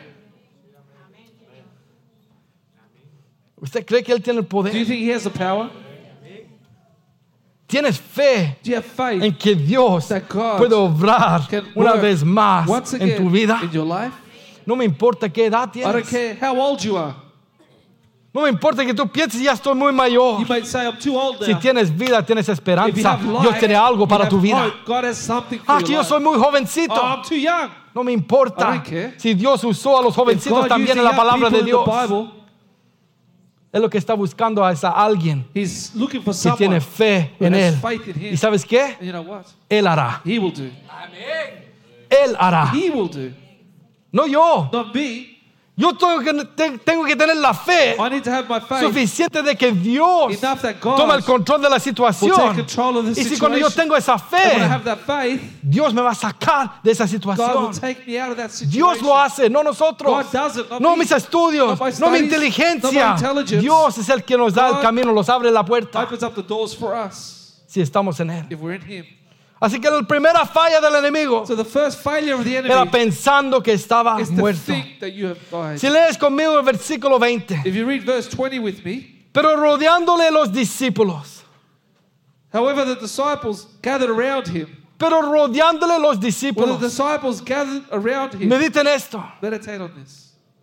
¿Usted cree que Él tiene el Do you poder? think He has the power? ¿Tienes fe Do you have faith en que Dios that God puede obrar can una work vez más once en tu again vida? in your life? No me importa qué edad I don't tienes. care how old you are. No me importa que tú pienses ya estoy muy mayor. You might say I'm too old now. Si tienes vida, tienes If you esperanza. have life, Dios tiene algo you para have tu vida. hope. God has something for Ah, your que yo life. soy muy jovencito. Oh, I'm too young. No me importa. I don't care. Si Dios usó a los If jovencitos God también used en the la young palabra people de in the Dios, Bible, es lo que está buscando a esa alguien He's looking for que someone tiene fe who en has Él. faith in Him. ¿Y sabes qué? And you know what? Él hará. He will do. Él hará. He will do. No yo. Not me. Yo tengo que, te- tengo que tener la fe I need to have my faith suficiente de que Dios enough that God toma el control de la will take situación. control of the Y si cuando yo situation. tengo esa And when I fe, have that faith, Dios me va a sacar de esa God will situación. take me out of that situation. Dios lo hace, no nosotros. God does it, not No me. mis estudios, Not my no mi studies, not inteligencia. my intelligence. Dios es el que nos da el God camino, nos abre la puerta Opens up the doors for us si estamos en Él. if we're in Him. Así que la primera falla del enemigo So the first failure of the era enemy pensando que estaba is to muerto. think that you have died. Si lees conmigo el versículo veinte, If you read verse twenty with me, pero rodeándole los discípulos, however, the disciples gathered around him. pero rodeándole los When the discípulos, disciples gathered around him, mediten esto, meditate on this.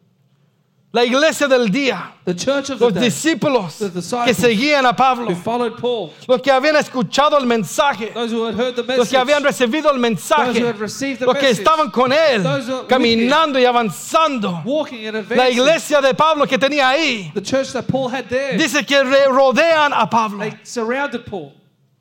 la iglesia del día, The church of the los day discípulos the disciples que seguían a Pablo, who followed Paul, los que habían escuchado el mensaje, those who had heard the los message, que habían recibido el those who mensaje, had received the los que message, estaban con él, those who were with caminando y avanzando. walking and La advancing. iglesia de Pablo que tenía ahí, The church that Paul had there, dice que re- rodean a Pablo. they surrounded Paul.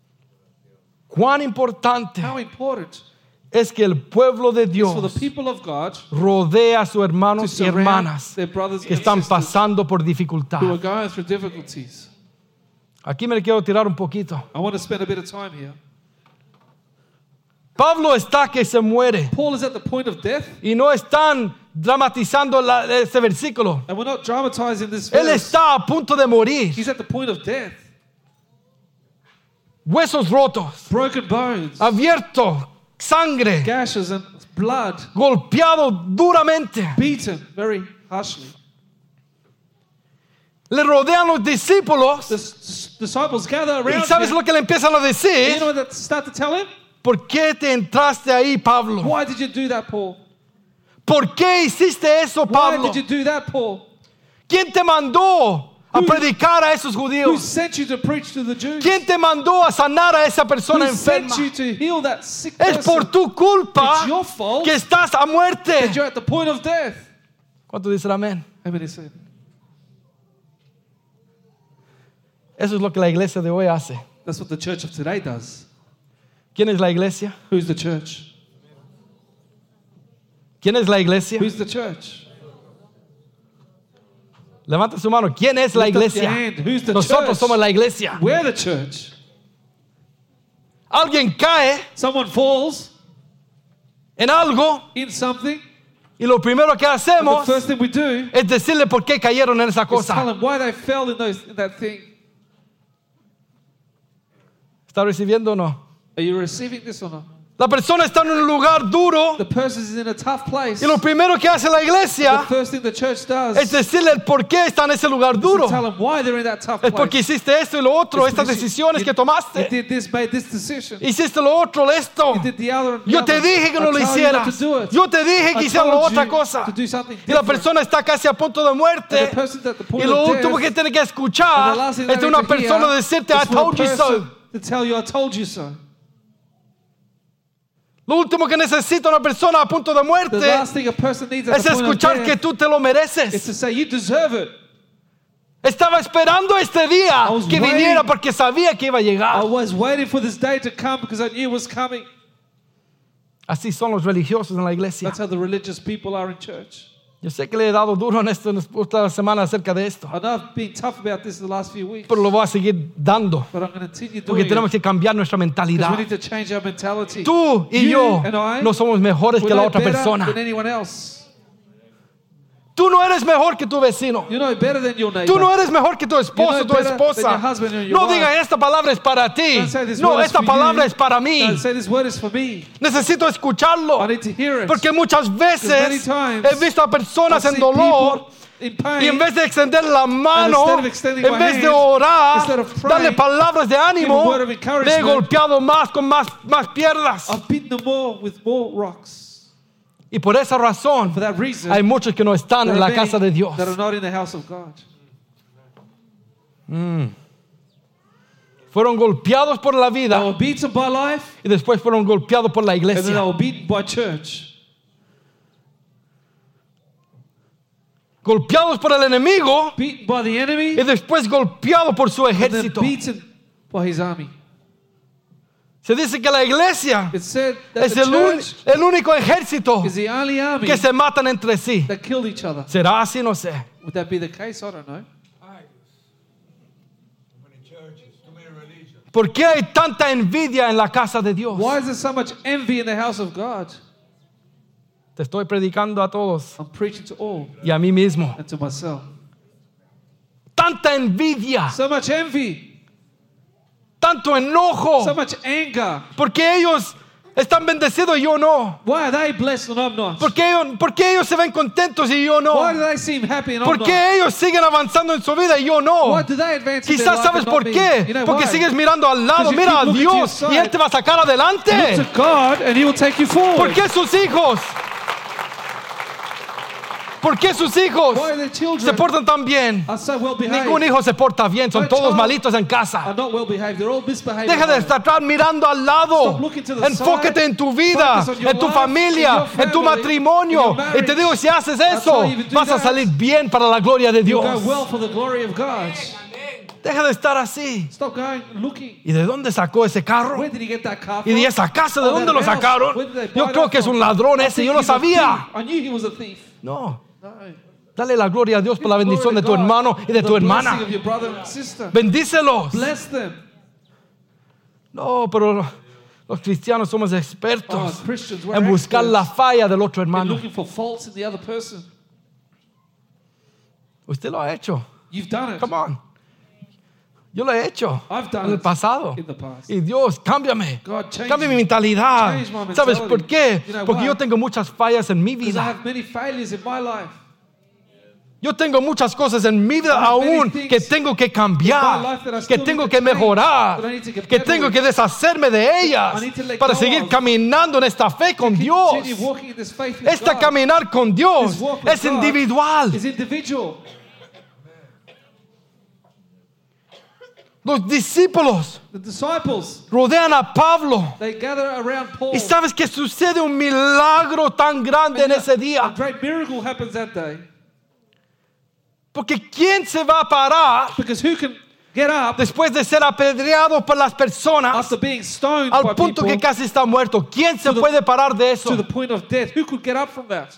Cuán importante How important es que el pueblo de is for the Dios people of God rodea a sus to hermanos y surround hermanas their brothers que and están sisters pasando por dificultad. who are going through difficulties. Aquí me quiero tirar un poquito. I want to spend a bit of time here. Pablo está que se muere Paul is at the point of death, y no están dramatizando la- ese versículo. and we're not dramatizing this Él verse. está a punto de morir. He's at the point of death. Huesos rotos, Broken bones, abierto, sangre, gashes and blood, golpeado duramente. beaten very harshly. Le rodean los discípulos The s- disciples gather y around ¿sabes him. lo que le empiezan a And you decir? know what they start to tell him? ¿Por qué te entraste ahí, Pablo? Why did you do that, Paul? ¿Por qué hiciste eso, Why Pablo? did you do that, Paul? ¿Quién te mandó a Who- predicar a esos Who judíos? sent you to preach to the Jews? ¿Quién te mandó a sanar a esa persona Who enferma? sent you to heal that sick Es person? por tu culpa It's your fault que estás a muerte. that you're at the point of death. ¿Cuánto dicen amén? How many said? Eso es lo que la iglesia de hoy hace. That's what the church of today does. ¿Quién es la iglesia? Who's the church? ¿Quién es la iglesia? Who's the church? Levanta su mano. ¿Quién es la Lift up your iglesia? hand. Who's the Nosotros church? somos la iglesia. We're the church. Alguien cae Someone falls en algo in something, y lo primero que and the hacemos first thing we do es decirle por qué cayeron en esa is tell cosa. them why they fell in, those, in that thing. ¿Está recibiendo o no? Are you receiving this or not? La persona está en un lugar duro The person is in a tough place. y lo primero que hace la The iglesia first thing the church does es decirle el por qué está en ese lugar is duro. to tell them why they're in that tough Es place. porque hiciste esto y lo otro, It's estas because you- decisiones you- que You tomaste. did this, made this decision. Hiciste lo otro, esto. You did the other and the Yo te other. dije que no I lo told you not hicieras. to do it. Yo te dije que I hicieras told otra you cosa. to do something Y la different. persona está casi a punto de And muerte. the person's at the point Y lo of último que death, tiene que and escuchar the last thing es they de una need to persona hear decirte, I is for a told you so. person to tell you, I told you so. Lo último que necesita una persona a punto de The muerte last thing a person needs at es the point of escuchar que death tú te lo is mereces. to say, you deserve it. Estaba esperando este día I was que waiting. viniera porque sabía que iba a I llegar. was waiting for this day to come because I knew it was coming. Así son los religiosos en la iglesia. That's how the religious people are in church. Yo sé que le he dado duro en esto en esta semana acerca de esto, I know I've been tough about this the last few weeks, pero lo voy a seguir dando but I'm going to continue porque doing tenemos it que cambiar nuestra because mentalidad. we need to change our mentality. Tú y You yo and I, no somos mejores we're que la no otra better persona. than anyone else. Tú no eres mejor que tu vecino. You're no better than your neighbor. Tú no eres mejor que tu esposo o You're tu no better than esposa. your husband or your No wife. digan esta palabra es para ti. Don't say this No, word is esta for palabra you. es para mí. Don't say this word is for me. Necesito escucharlo. I need to hear it. Porque muchas many veces times he visto a personas I've en seen dolor people in pain, y en vez de extender la mano, instead of extending en my vez de hand, orar, instead of praying, darle palabras de ánimo, give a word of le he encouragement, golpeado más con más, más piedras. I've beaten them more with more rocks. Y por esa razón For that reason, hay muchos que no están there en are la many casa de Dios. that are not in the house of God. Fueron golpeados por la They vida were beaten by life, y después fueron golpeados por la and then they iglesia. were beaten by church. Golpeados por el enemigo Beaten by the enemy, y después golpeados por su and then ejército. beaten by his army. Se dice que la iglesia It said that es the el, un- church el único ejército is the only army que se matan entre sí. that killed each other. ¿Será así? No sé. Would that be the case? I don't know. ¿Por qué hay tanta envidia en la casa de Dios? Why is there so much envy in the house of God? Te estoy predicando a todos I'm preaching to all y a mí mismo. and to myself. Tanta envidia, So much envy, tanto enojo, so much anger. porque ellos están bendecidos y yo no. Why are they blessed and I'm not? ¿Por qué ellos, por qué ellos se ven contentos y yo no? Why do they seem happy and I'm ¿Por not? qué ellos siguen avanzando en su vida y yo no? Why do they advance in their Quizás life sabes and not por me? qué. You know Porque why? sigues mirando al lado. Because you Mira keep a looking to Dios your y side. Él te va a sacar adelante. Look to God and He will take you ¿Por forward. qué sus hijos? ¿Por qué sus hijos Why are their se children portan tan bien? are so well behaved? Ningún hijo se porta bien, son My todos child malitos en are casa. not well behaved. They're all misbehaved. Deja de estar mirando al lado. Stop looking to the Enfócate side. en tu vida, Focus on your en tu life, familia, in your en tu family, matrimonio. in your Y te marriage. digo, si haces I'll eso, tell you, if you do vas a that, salir bien para la gloria de You'll Dios. go well for the glory of God. Deja de estar así. Stop going looking. ¿Y de dónde sacó ese carro? Where did he get that car ¿Y from? de esa casa de Oh, dónde that lo house. sacaron? Where did they buy Yo that creo que es from? un ladrón I ese, think yo lo he's a sabía. thief. I knew he was a thief. No. No. Dale la gloria a Dios por la Give bendición glory de to tu God hermano y de for tu the blessing hermana. of your brother and sister. Bendícelos. Bless them. No, pero los cristianos somos Oh, expertos Christians, we're en buscar experts la falla del otro in hermano. looking for faults in the other person. Usted lo ha hecho. You've done it. Come on. Yo lo he hecho I've done en el it pasado. in the past. Y Dios, cámbiame. God, change Cambia mi me. mentalidad. Change my ¿Sabes mentality. por qué? You know Porque why? yo tengo muchas fallas en mi Because I vida. have many failures in my life. Yo tengo muchas cosas en mi vida I have many aún things que tengo que in my cambiar, life that I que still tengo need que to change, mejorar, that I need to get que better tengo with. que deshacerme de ellas I need to let para go seguir of. caminando en esta fe con Keep- Dios. Continue walking in this faith with Esta God. caminar con Dios This walk with es God individual. is individual. Los discípulos The disciples, rodean a Pablo. they gather around Paul. Y sabes que sucede un milagro tan grande en And ese a día. great miracle happens that day. Porque ¿quién se va a parar Because who can get up después de ser apedreado por las personas after being stoned by al punto people que casi está muerto? ¿Quién se to the- puede parar de eso? to the point of death? Who could get up from that?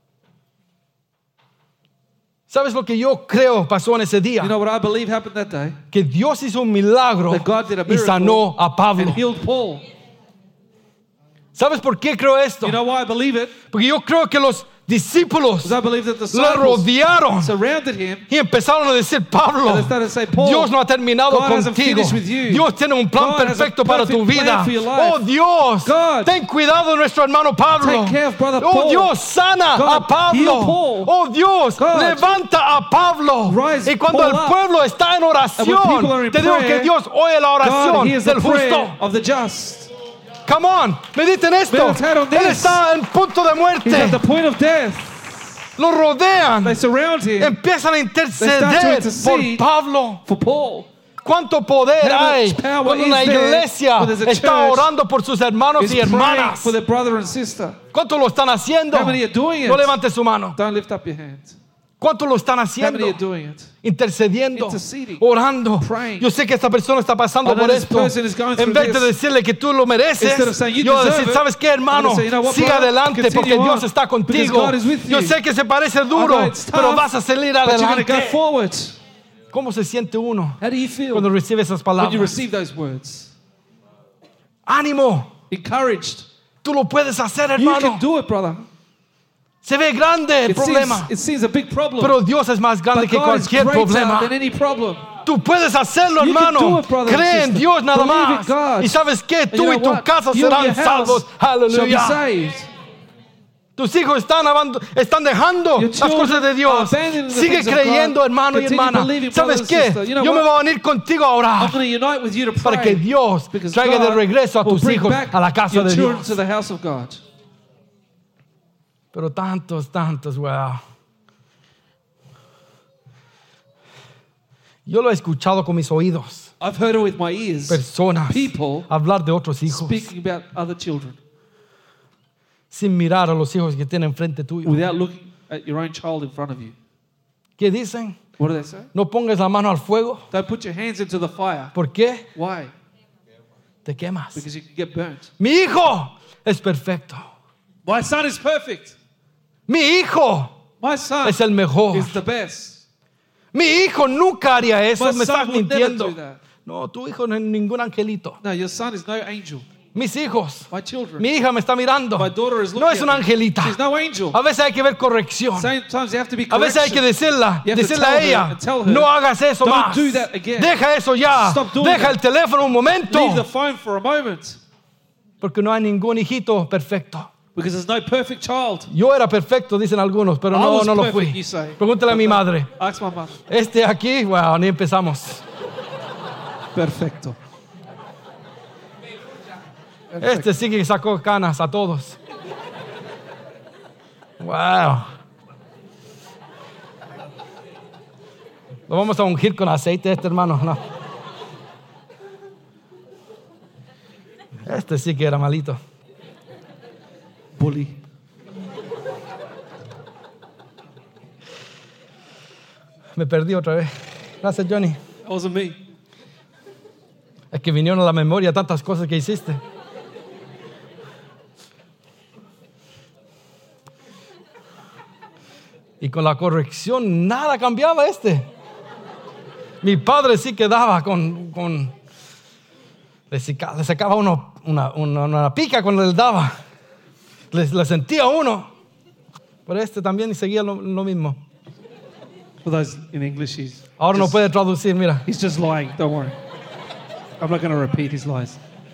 ¿Sabes lo que yo creo pasó en ese día? You know what I believe happened that day? Que Dios hizo un milagro That God did a y miracle sanó a Pablo. and healed Paul. ¿Sabes por qué creo esto? You know why I believe it? Porque yo creo que los discípulos Because I believe that the lo disciples rodearon surrounded him. y empezaron a decir, Pablo, And they started to say, Paul, Dios no ha terminado God hasn't contigo. finished with you. Dios tiene un plan God has a perfecto para tu perfect vida. plan for your life. Oh Dios, God, ten cuidado de nuestro hermano Pablo. take care of brother Oh Paul. Dios, sana God, a Pablo. heal Paul. Oh Dios, God, levanta a Pablo. rise Y cuando Paul el up. pueblo está en And when people are oración, in te digo prayer, que Dios oye la God oración hears the del prayer justo. of the just. Come on, mediten esto. Meditate on Él this. está en punto de He's at muerte. the point of death. Lo rodean. They surround him Empiezan a start to interceder por intercede. Pablo. for Paul. ¿Cuánto poder How hay much power cuando una is there iglesia when there's a está church orando por sus hermanos Is y praying hermanas? for their brother and sister. ¿Cuánto lo están haciendo? How many are doing it? No levante su mano. Don't lift up your hand. ¿Cuánto lo están How haciendo? many are doing it? Intercediendo, Interceding, orando. praying. Yo sé que esta persona está pasando I know por this esto. person is going En through vez de this. decirle que tú lo mereces, Instead of saying you yo voy a deserve decir, it, ¿sabes qué, hermano? I'm gonna say, you know what, Siga brother? adelante Continue porque Dios on, está because contigo. God is with Yo you. sé que se parece I duro, know it's pero tough, vas a salir but you're going to go adelante. forward. ¿Cómo se siente uno How do you feel cuando recibe esas when you palabras? receive those words? Ánimo, Encouraged. tú lo puedes hacer, You hermano. can do it, brother. Se ve grande el It seems, problema, it seems a big problem. pero Dios es más grande But que God is cualquier greater problema. than any problem. Tú puedes hacerlo, You can hermano. do it, brother and Cree en sister. Dios nada Believe in más. God. Y sabes qué, And tú you y know tu what? casa You and serán your house salvos. shall be Aleluya. saved. Tus hijos están, abando- están dejando Your las children cosas de Dios. are abandoning the Sigue things of creyendo, God. hermano y Continue hermana. believing, ¿Sabes brother and qué? sister. You know Yo me what? voy a venir contigo a I'm orar going to unite with you to para pray. que Dios Because traiga de God regreso a will tus bring hijos back a la casa your de children Dios. to the house of God. Pero tantos, tantos, wow. Yo lo he escuchado con mis oídos. I've heard it with my ears. Personas People hablar de otros hijos speaking about other children sin mirar a los hijos que tienen frente tuyo. without looking at your own child in front of you. ¿Qué dicen? What do they say? No pongas la mano al fuego. Don't put your hands into the fire. ¿Por qué? Why? Te quemas. Because you can get burnt. Mi hijo es perfecto. My son is perfect. Mi hijo My son es el mejor. is the best. Mi hijo nunca haría eso. My Me estás son would never mintiendo. do that. No, tu hijo no es ningún angelito. No, your son is no angel. Mis hijos. My children. Mi hija me está mirando. My daughter is looking No es at una me. angelita. She's no angel. A veces hay que ver corrección. Sometimes you have to be A veces hay que correction. decirla, You have to decirle tell a her ella, and tell her, no hagas eso "Don't más. do that again. Deja eso ya. Stop doing Deja that. el teléfono un momento. Leave the phone for a moment. Porque no hay ningún hijito perfecto. Because there's no perfect child. Yo era perfecto, dicen algunos, pero I no, was no lo perfect, fui. you say. Pregúntale a mi madre. Ask my mother. Este aquí, wow, ni empezamos. Perfecto. Este sí que sacó canas a todos. Wow. Lo vamos a ungir con aceite este hermano. No. Este sí que era malito. Bully. Me perdí otra vez. Gracias, Johnny. That wasn't me. Es que vinieron a la memoria tantas cosas que hiciste. Y con la corrección nada cambiaba este. Mi padre sí quedaba con... con le, seca, le sacaba uno, una, una, una pica cuando le daba. Le, le sentía uno. Pero este también seguía lo, lo mismo. For those in English, he's Ahora no just, puede traducir, mira. he's just lying. Don't worry. I'm not going to repeat his lies.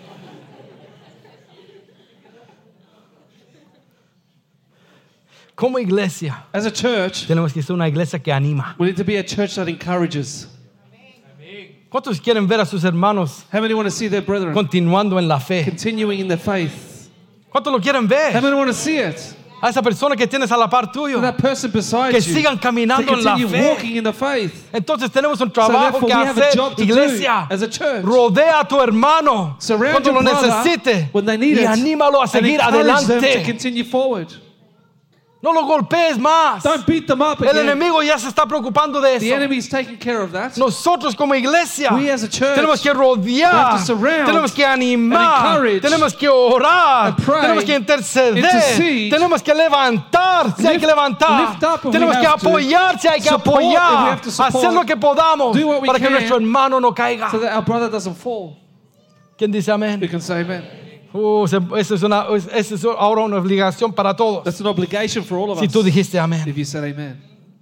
Como iglesia, As a church, tenemos que ser una iglesia que anima. we need to be a church that encourages. ¿Cuántos quieren ver a sus hermanos How many want to see their brethren continuando en la fe? continuing in their faith? ¿Cuántos lo quieren How ver? many want to see it? A esa persona que tienes a la par tuyo. That person beside Que you sigan to caminando en la continue fe. walking in the faith. Entonces tenemos un So trabajo therefore, que we have a hacer, job to iglesia. do as a church. Rodea a tu hermano Surround cuando your lo brother necesite when they need y it, anímalo a and seguir encourage them to adelante. continue forward. No lo golpees más. Don't beat them up El again. enemigo ya se está preocupando de The eso. enemy is taking care of that. Nosotros como iglesia We as a church tenemos que we rodear, have to surround tenemos que and animar, encourage tenemos que orar, and pray, tenemos que interceder, intercede, tenemos que levantar si hay que lift- levantar, lift up if we tenemos que have to, apoyar si hay que support if we apoyar, have to support, hacer lo que podamos do what we para que can nuestro hermano no caiga. So that our brother doesn't fall. ¿Quién dice We amén? can say amen. Uh, se- eso es una, eso es ahora una obligación para todos. That's an obligation for all of Si us. tú dijiste amén. If you said amen.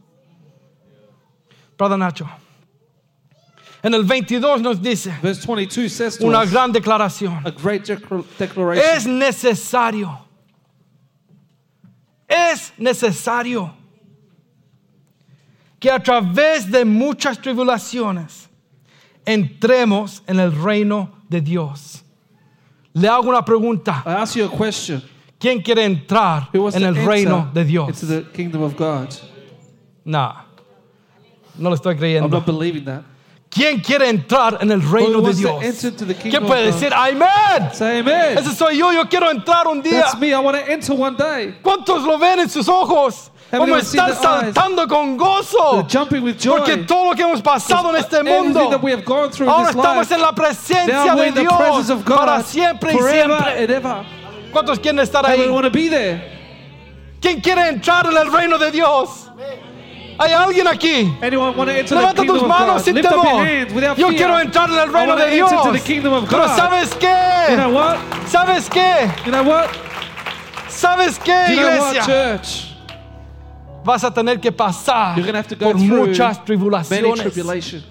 Brother Nacho. En el veintidós nos dice Verse twenty-two says to una us gran declaración. a great declar- declaration. Es necesario. Es necesario que a través de muchas tribulaciones entremos en el reino de Dios. Le hago una pregunta. I ask you a question. ¿Quién quiere entrar Who wants en to el enter reino de Dios? into the kingdom of God? No, no lo estoy I'm creyendo. not believing that. ¿Quién quiere entrar en el reino Who de wants to Dios? enter into the ¿Quién kingdom puede of God? decir amén? Say amen. Ese soy yo, yo quiero entrar un día. That's me. I want to enter one day. ¿Cuántos lo ven en sus ojos? How Como many have seen están their eyes? saltando con gozo. They're jumping with joy. Porque todo lo que hemos pasado en este Everything mundo, that we have gone through in ahora this estamos life, en la presencia now we're de in the Dios presence of God para siempre y forever siempre. and ever. ¿Cuántos quieren estar How ahí? we want to be there. ¿Quién quiere entrar en el reino de Dios? ¿Hay alguien aquí? Anyone want to enter the Levanta kingdom tus of manos God? sin Lift up your temor. hands without Yo fear. quiero entrar en el I reino want to de Dios. enter into the kingdom of Pero God. ¿sabes You know qué? what? ¿Sabes qué? You know what? ¿Sabes qué, You know what, iglesia? church? Vas a tener que pasar You're going to have to go por through muchas many tribulaciones. tribulations.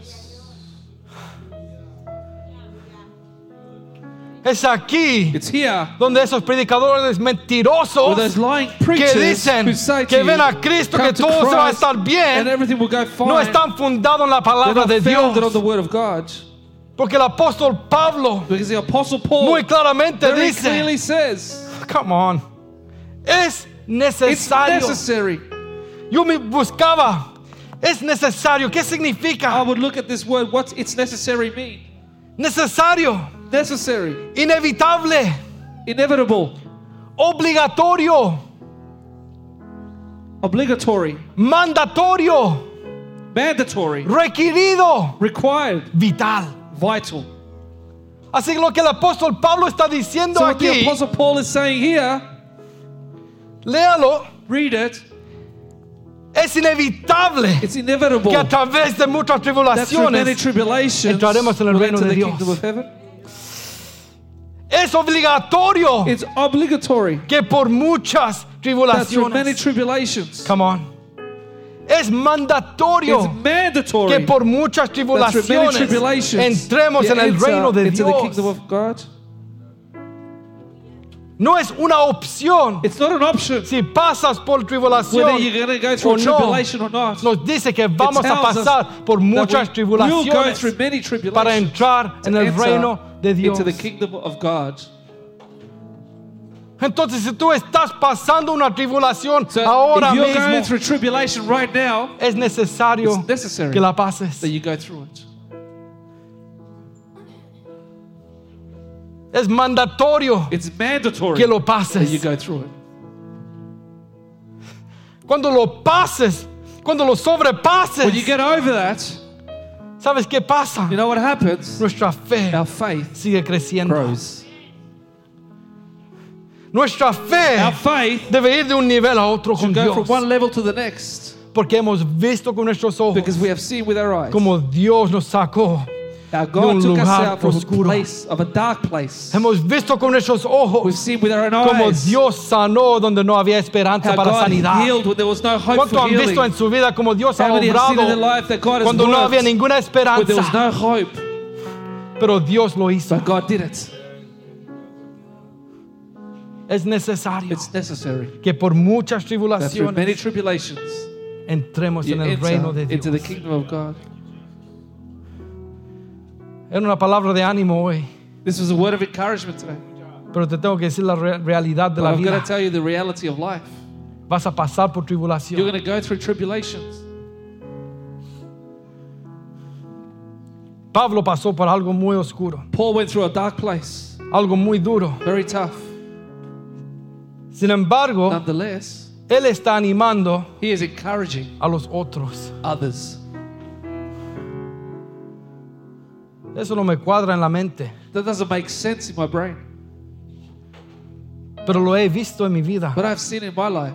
Es aquí It's here donde esos predicadores where mentirosos those lying que preachers dicen who say to que you, ven a Cristo, come que to todo se va a Christ estar and bien, everything will go fine. no están fundados en la They're palabra not de founded on the Dios. word of God. Porque el apóstol Pablo Because the apostle Paul muy claramente very dice, clearly says come on, es it's necesario. necessary. Yo me buscaba, es necesario. ¿Qué I significa? would look at this word. What's it's necessary mean? Necesario, Necessary, inevitable, inevitable, obligatorio, obligatory, mandatorio, mandatory, requerido, required, vital. vital. Así que lo que el apóstol Pablo está diciendo So what the aquí, apostle Paul is saying here, léalo, read it. es inevitable It's inevitable que a través de muchas that through many tribulaciones tribulations entraremos en el we'll reino enter de the Dios. kingdom of heaven. es obligatorio It's obligatory que por muchas that through many tribulaciones, tribulations. come on, es mandatorio It's mandatory que por muchas that through many tribulaciones tribulations entremos you en el enter reino de into the kingdom Dios. of God. No es una opción. It's not an option Si pasas por whether tribulación you're going to go through o a no, tribulation or not. nos dice que It vamos a tells us pasar por that muchas we will go tribulaciones through many para tribulations entrar to en el enter reino de Dios. into the kingdom of God. Entonces, si tú estás pasando una tribulación So ahora if you're going mismo, through tribulation right now, es necesario it's necessary que la pases. that you go through it. Es mandatorio It's mandatory que lo that you pases. go through it. Cuando lo pases, cuando lo sobrepases, When you get over that, ¿sabes qué pasa? you know what happens? Nuestra fe Our faith sigue creciendo. grows. Nuestra fe Our faith debe ir de un nivel a otro con should go Dios. from one level to the next Porque hemos visto con nuestros ojos because we have seen with our eyes como Dios nos sacó. how de God un took us lugar out from oscuro. a place of a dark place. Hemos visto con nuestros We've ojos seen with our own como eyes Dios sanó donde no había esperanza how para God sanidad. healed when there was no hope ¿Cuánto for han visto healing? en su vida como Dios ha How many have seen in their obrado life that God has cuando no worked había ninguna when there was esperanza? no hope, Pero Dios lo hizo. but God did it. Es necesario It's necessary que por muchas that through many tribulaciones tribulations entremos you en el reino enter de into the Dios. kingdom of God. Era una palabra de ánimo hoy, This was a word of encouragement today. pero te tengo que decir la re- realidad de But la I'm going vida. to tell you the reality of life. Vas a pasar por You're tribulación. going to go through tribulations. Pablo pasó por algo muy oscuro, Paul went through a dark place, algo muy duro. very tough. Sin embargo, Nonetheless, él está animando he is encouraging a los otros. others. Eso no me cuadra en la mente, That doesn't make sense in my brain, pero lo he visto en mi vida. but I've seen in my life.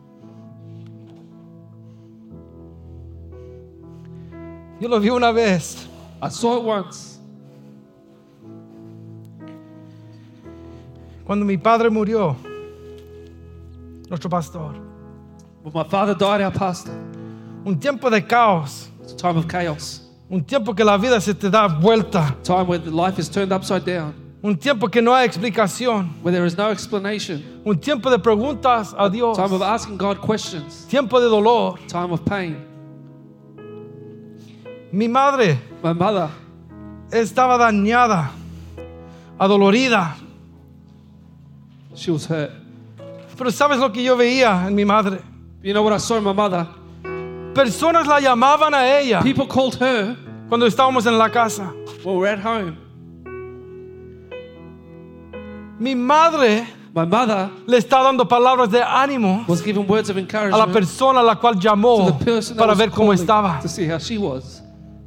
Yo lo vi una vez. I saw it once. Cuando mi padre murió, nuestro pastor, When my father died, our pastor, un tiempo de caos, it's a time of chaos. un tiempo que la vida se te da vuelta, Time where the life is turned upside down. un tiempo que no hay explicación, Where there is no explanation. un tiempo de preguntas a Dios, Time of asking God questions. tiempo de dolor. Time of pain. Mi madre My mother, estaba dañada, adolorida, she was hurt. pero ¿sabes lo que yo veía en mi madre? You know what I saw in my mother? Personas la llamaban a ella People called her cuando estábamos en la casa. when we were at home. Mi madre My mother le está dando palabras de ánimo was giving words of a la encouragement persona a la cual to llamó the person that para was ver cómo calling estaba. to see how she was.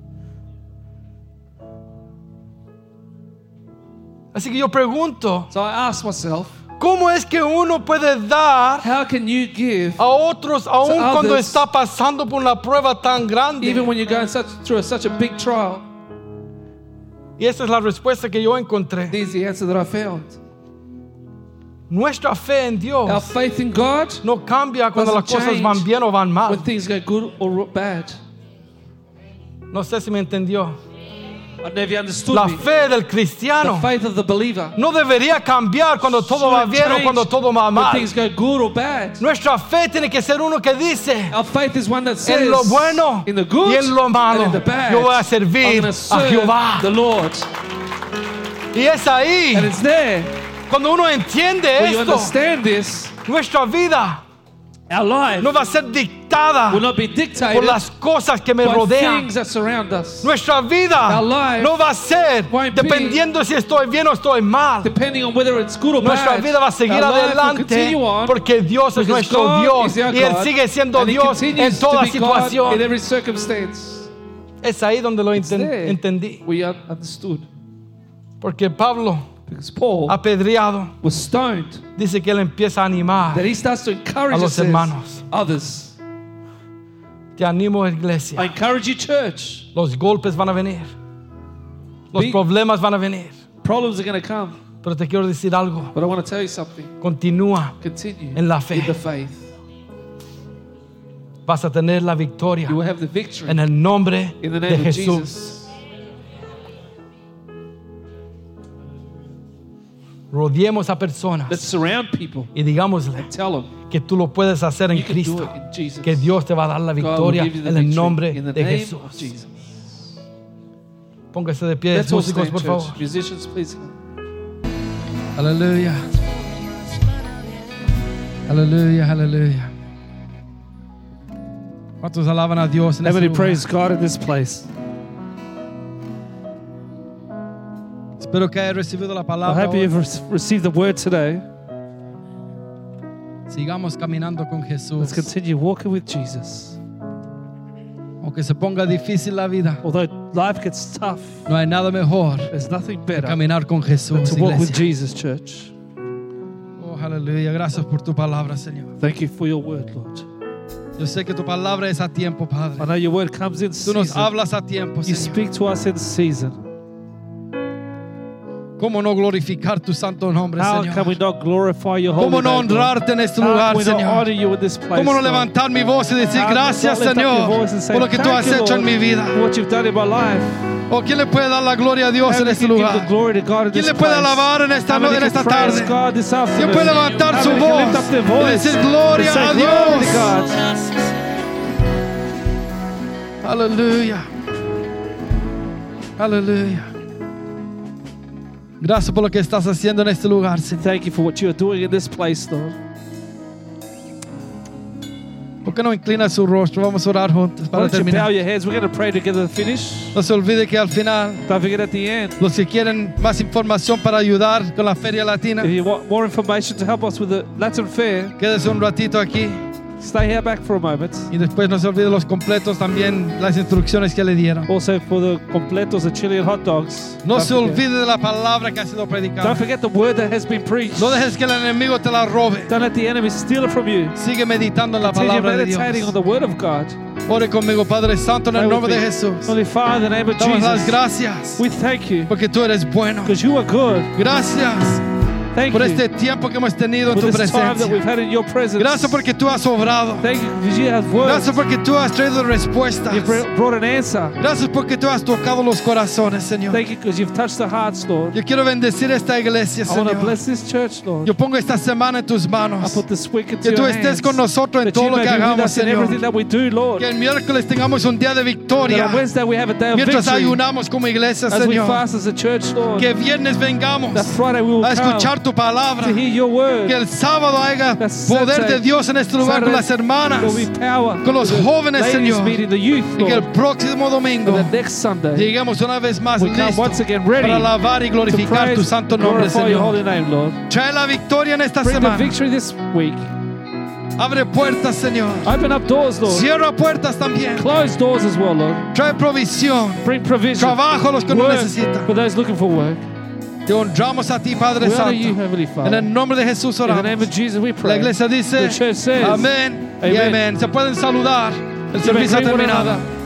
Así que yo pregunto, So I asked myself, ¿cómo es que uno puede dar how can you give a otros aun To cuando others, está pasando por una prueba tan grande? even when you're going such, through a, such a big trial? Y esa es la respuesta que yo encontré. This is the answer that I found. Nuestra fe en Our Dios faith in God, no cambia cuando las doesn't cosas van change bien o van mal. when things go good or bad. No sé si me entendió. I never understood La me. fe del The cristiano faith of the believer no debería cambiar cuando todo va shouldn't bien o change cuando todo va when mal. things go good or bad. Nuestra fe tiene que ser uno que dice, Our faith is one that says, en lo bueno in the good y en lo malo, and in the bad, yo voy a I'm servir gonna a serve Jehová. the Lord. Y es ahí, And it's there cuando uno entiende where you esto, understand this. nuestra vida Our life no va a ser dictada will not be por dictated las cosas que me by rodean. things that surround us. Nuestra vida Our life no va a ser won't be dependiendo si estoy bien o estoy mal. Depending on whether it's good or Nuestra bad, vida va a seguir our life will adelante continue on porque Dios es because nuestro God Dios is our y Él God, sigue siendo and He Dios en continues toda to be God situación. in every circumstance. Es ahí donde lo It's enten- there entendí. we un- understood. Porque Pablo, Because Paul apedreado, was stoned, dice que él empieza a animar. that he starts to encourage A los us, says, hermanos. others. Te animo, I iglesia. encourage you, church. Los golpes van a venir. Los Be- problemas van a venir. Problems are going to come, Pero te quiero decir algo. but I want to tell you something. Continúa. Continue En la fe. in the faith. Vas a tener la victoria You will have the victory en el nombre in the de name of Jesús. Jesus. Rodeemos a personas Let's surround people y digámosle and tell them que tú lo puedes hacer en you can do Cristo. it in Jesus. Que Dios te va a dar la God will victoria give you the en el victory nombre in the de name Jesús. of Jesus. Póngase de pie, Let's all músicos, stand, por church. favor. Musicians, please come. Aleluya. Aleluya, aleluya. ¿Cuántos alaban a Dios en How este many lugar? praise God in this place? Espero que haya recibido la I palabra. hope hoy. you've re- received the word today. Sigamos caminando con Jesús. Let's continue walking with Jesus. Aunque se ponga difícil la vida, Although life gets tough, no hay nada mejor there's nothing que better caminar con than Jesús, to walk with iglesia. Jesus, church. Oh, aleluya. Gracias por tu palabra, Señor. Thank you for your word, Lord. Yo sé que tu palabra es a tiempo, I Padre. know your word comes in Tú nos season. hablas a tiempo, You Señor. speak to us in season. ¿Cómo no glorificar tu santo nombre, How Señor? can we not glorify your holy ¿Cómo no name, Lord? honrarte en este How lugar, can we not Señor? honor you in this place, ¿Cómo no Lord? levantar mi voz y decir How can we gracias, not lift up your Señor, voice and say, por lo que tú "Thank has you, hecho en Lord, mi vida? for what you've done in my life"? ¿O quién le puede dar la gloria a Dios How en we este can give the lugar? glory to God in ¿Quién this le puede place? alabar en esta, How many en can esta praise tarde? God this ¿Quién afternoon? puede levantar How su many can lift voz up their y voice decir and gloria say a glory Dios? to God? Aleluya. Aleluya. Gracias por lo que estás haciendo en este lugar, Señor. Thank you for what you are doing in this place, Lord. ¿Por qué no inclina su rostro? Vamos a orar juntos Why para don't you bow terminar. your heads? We're going to pray together to finish. No se olvide que al final, Don't forget at the end, los que quieren más información para ayudar con la Feria Latina, if you want more information to help us with the Latin Fair, quédese un ratito aquí stay here back for a moment. y después no se olvide los completos, también las instrucciones que le dieron. Also for the completos, the chili and hot dogs. No Don't se forget. olvide de la palabra que ha sido predicada. Don't forget the word that has been preached. No dejes que el enemigo te la robe. Don't let the enemy steal it from you. Sigue meditando en la Continue palabra de meditating on Dios. the word of God. Ore conmigo, Padre Santo, en Pray el with nombre de me. Jesús. Holy Father, in the name of Damos las Jesus, gracias we thank you porque tú eres bueno. because you are good. Gracias Thank por you este tiempo que hemos tenido en for tu this time that we've presencia. had in your presence. Gracias porque tú has obrado. Thank you because you have words. Gracias porque tú has traído respuestas. You've br- brought an answer. Gracias porque tú has tocado los corazones, Señor. Thank you because you've touched the hearts, Lord. Yo quiero bendecir esta iglesia, I want to Señor. bless this church, Lord. Yo pongo esta semana en tus I manos. put this week into Que tú your estés hands. con nosotros en That todo you lo may que be with hagamos, us in everything Señor. that we do, Lord. Que el miércoles tengamos un día de That victoria. on Wednesday we have a day of Mientras victory. ayunamos como iglesia, As we Señor. fast as a church, Lord. Que viernes vengamos That Friday we will a come escuchar tu palabra. to hear your word. Que el sábado haya That poder Saturday- de Dios en este lugar con las Saturday hermanas, There will be power con los with the jóvenes, ladies Señor. meeting, the youth, Y que el Lord. próximo domingo And the next Sunday lleguemos una vez más we come once listos again ready para alabar y to glorificar tu praise santo and nombre, glorify your Señor. holy name, Lord. Trae la victoria en esta Bring the semana. victory this week. Abre puertas, Señor. Open up doors, Lord. Cierra puertas también. Close doors as well, Lord. Trae provisión. Bring provision. Trabajo a los que no Work necesitan. for those looking for work. Te honramos a ti, Padre We honor you, Santo. Heavenly En Father. el nombre de Jesús In the name oramos. of Jesus we La pray. iglesia dice The church says, amén y Amen. amén. Se pueden saludar. El You may servicio ha greet one terminado. another.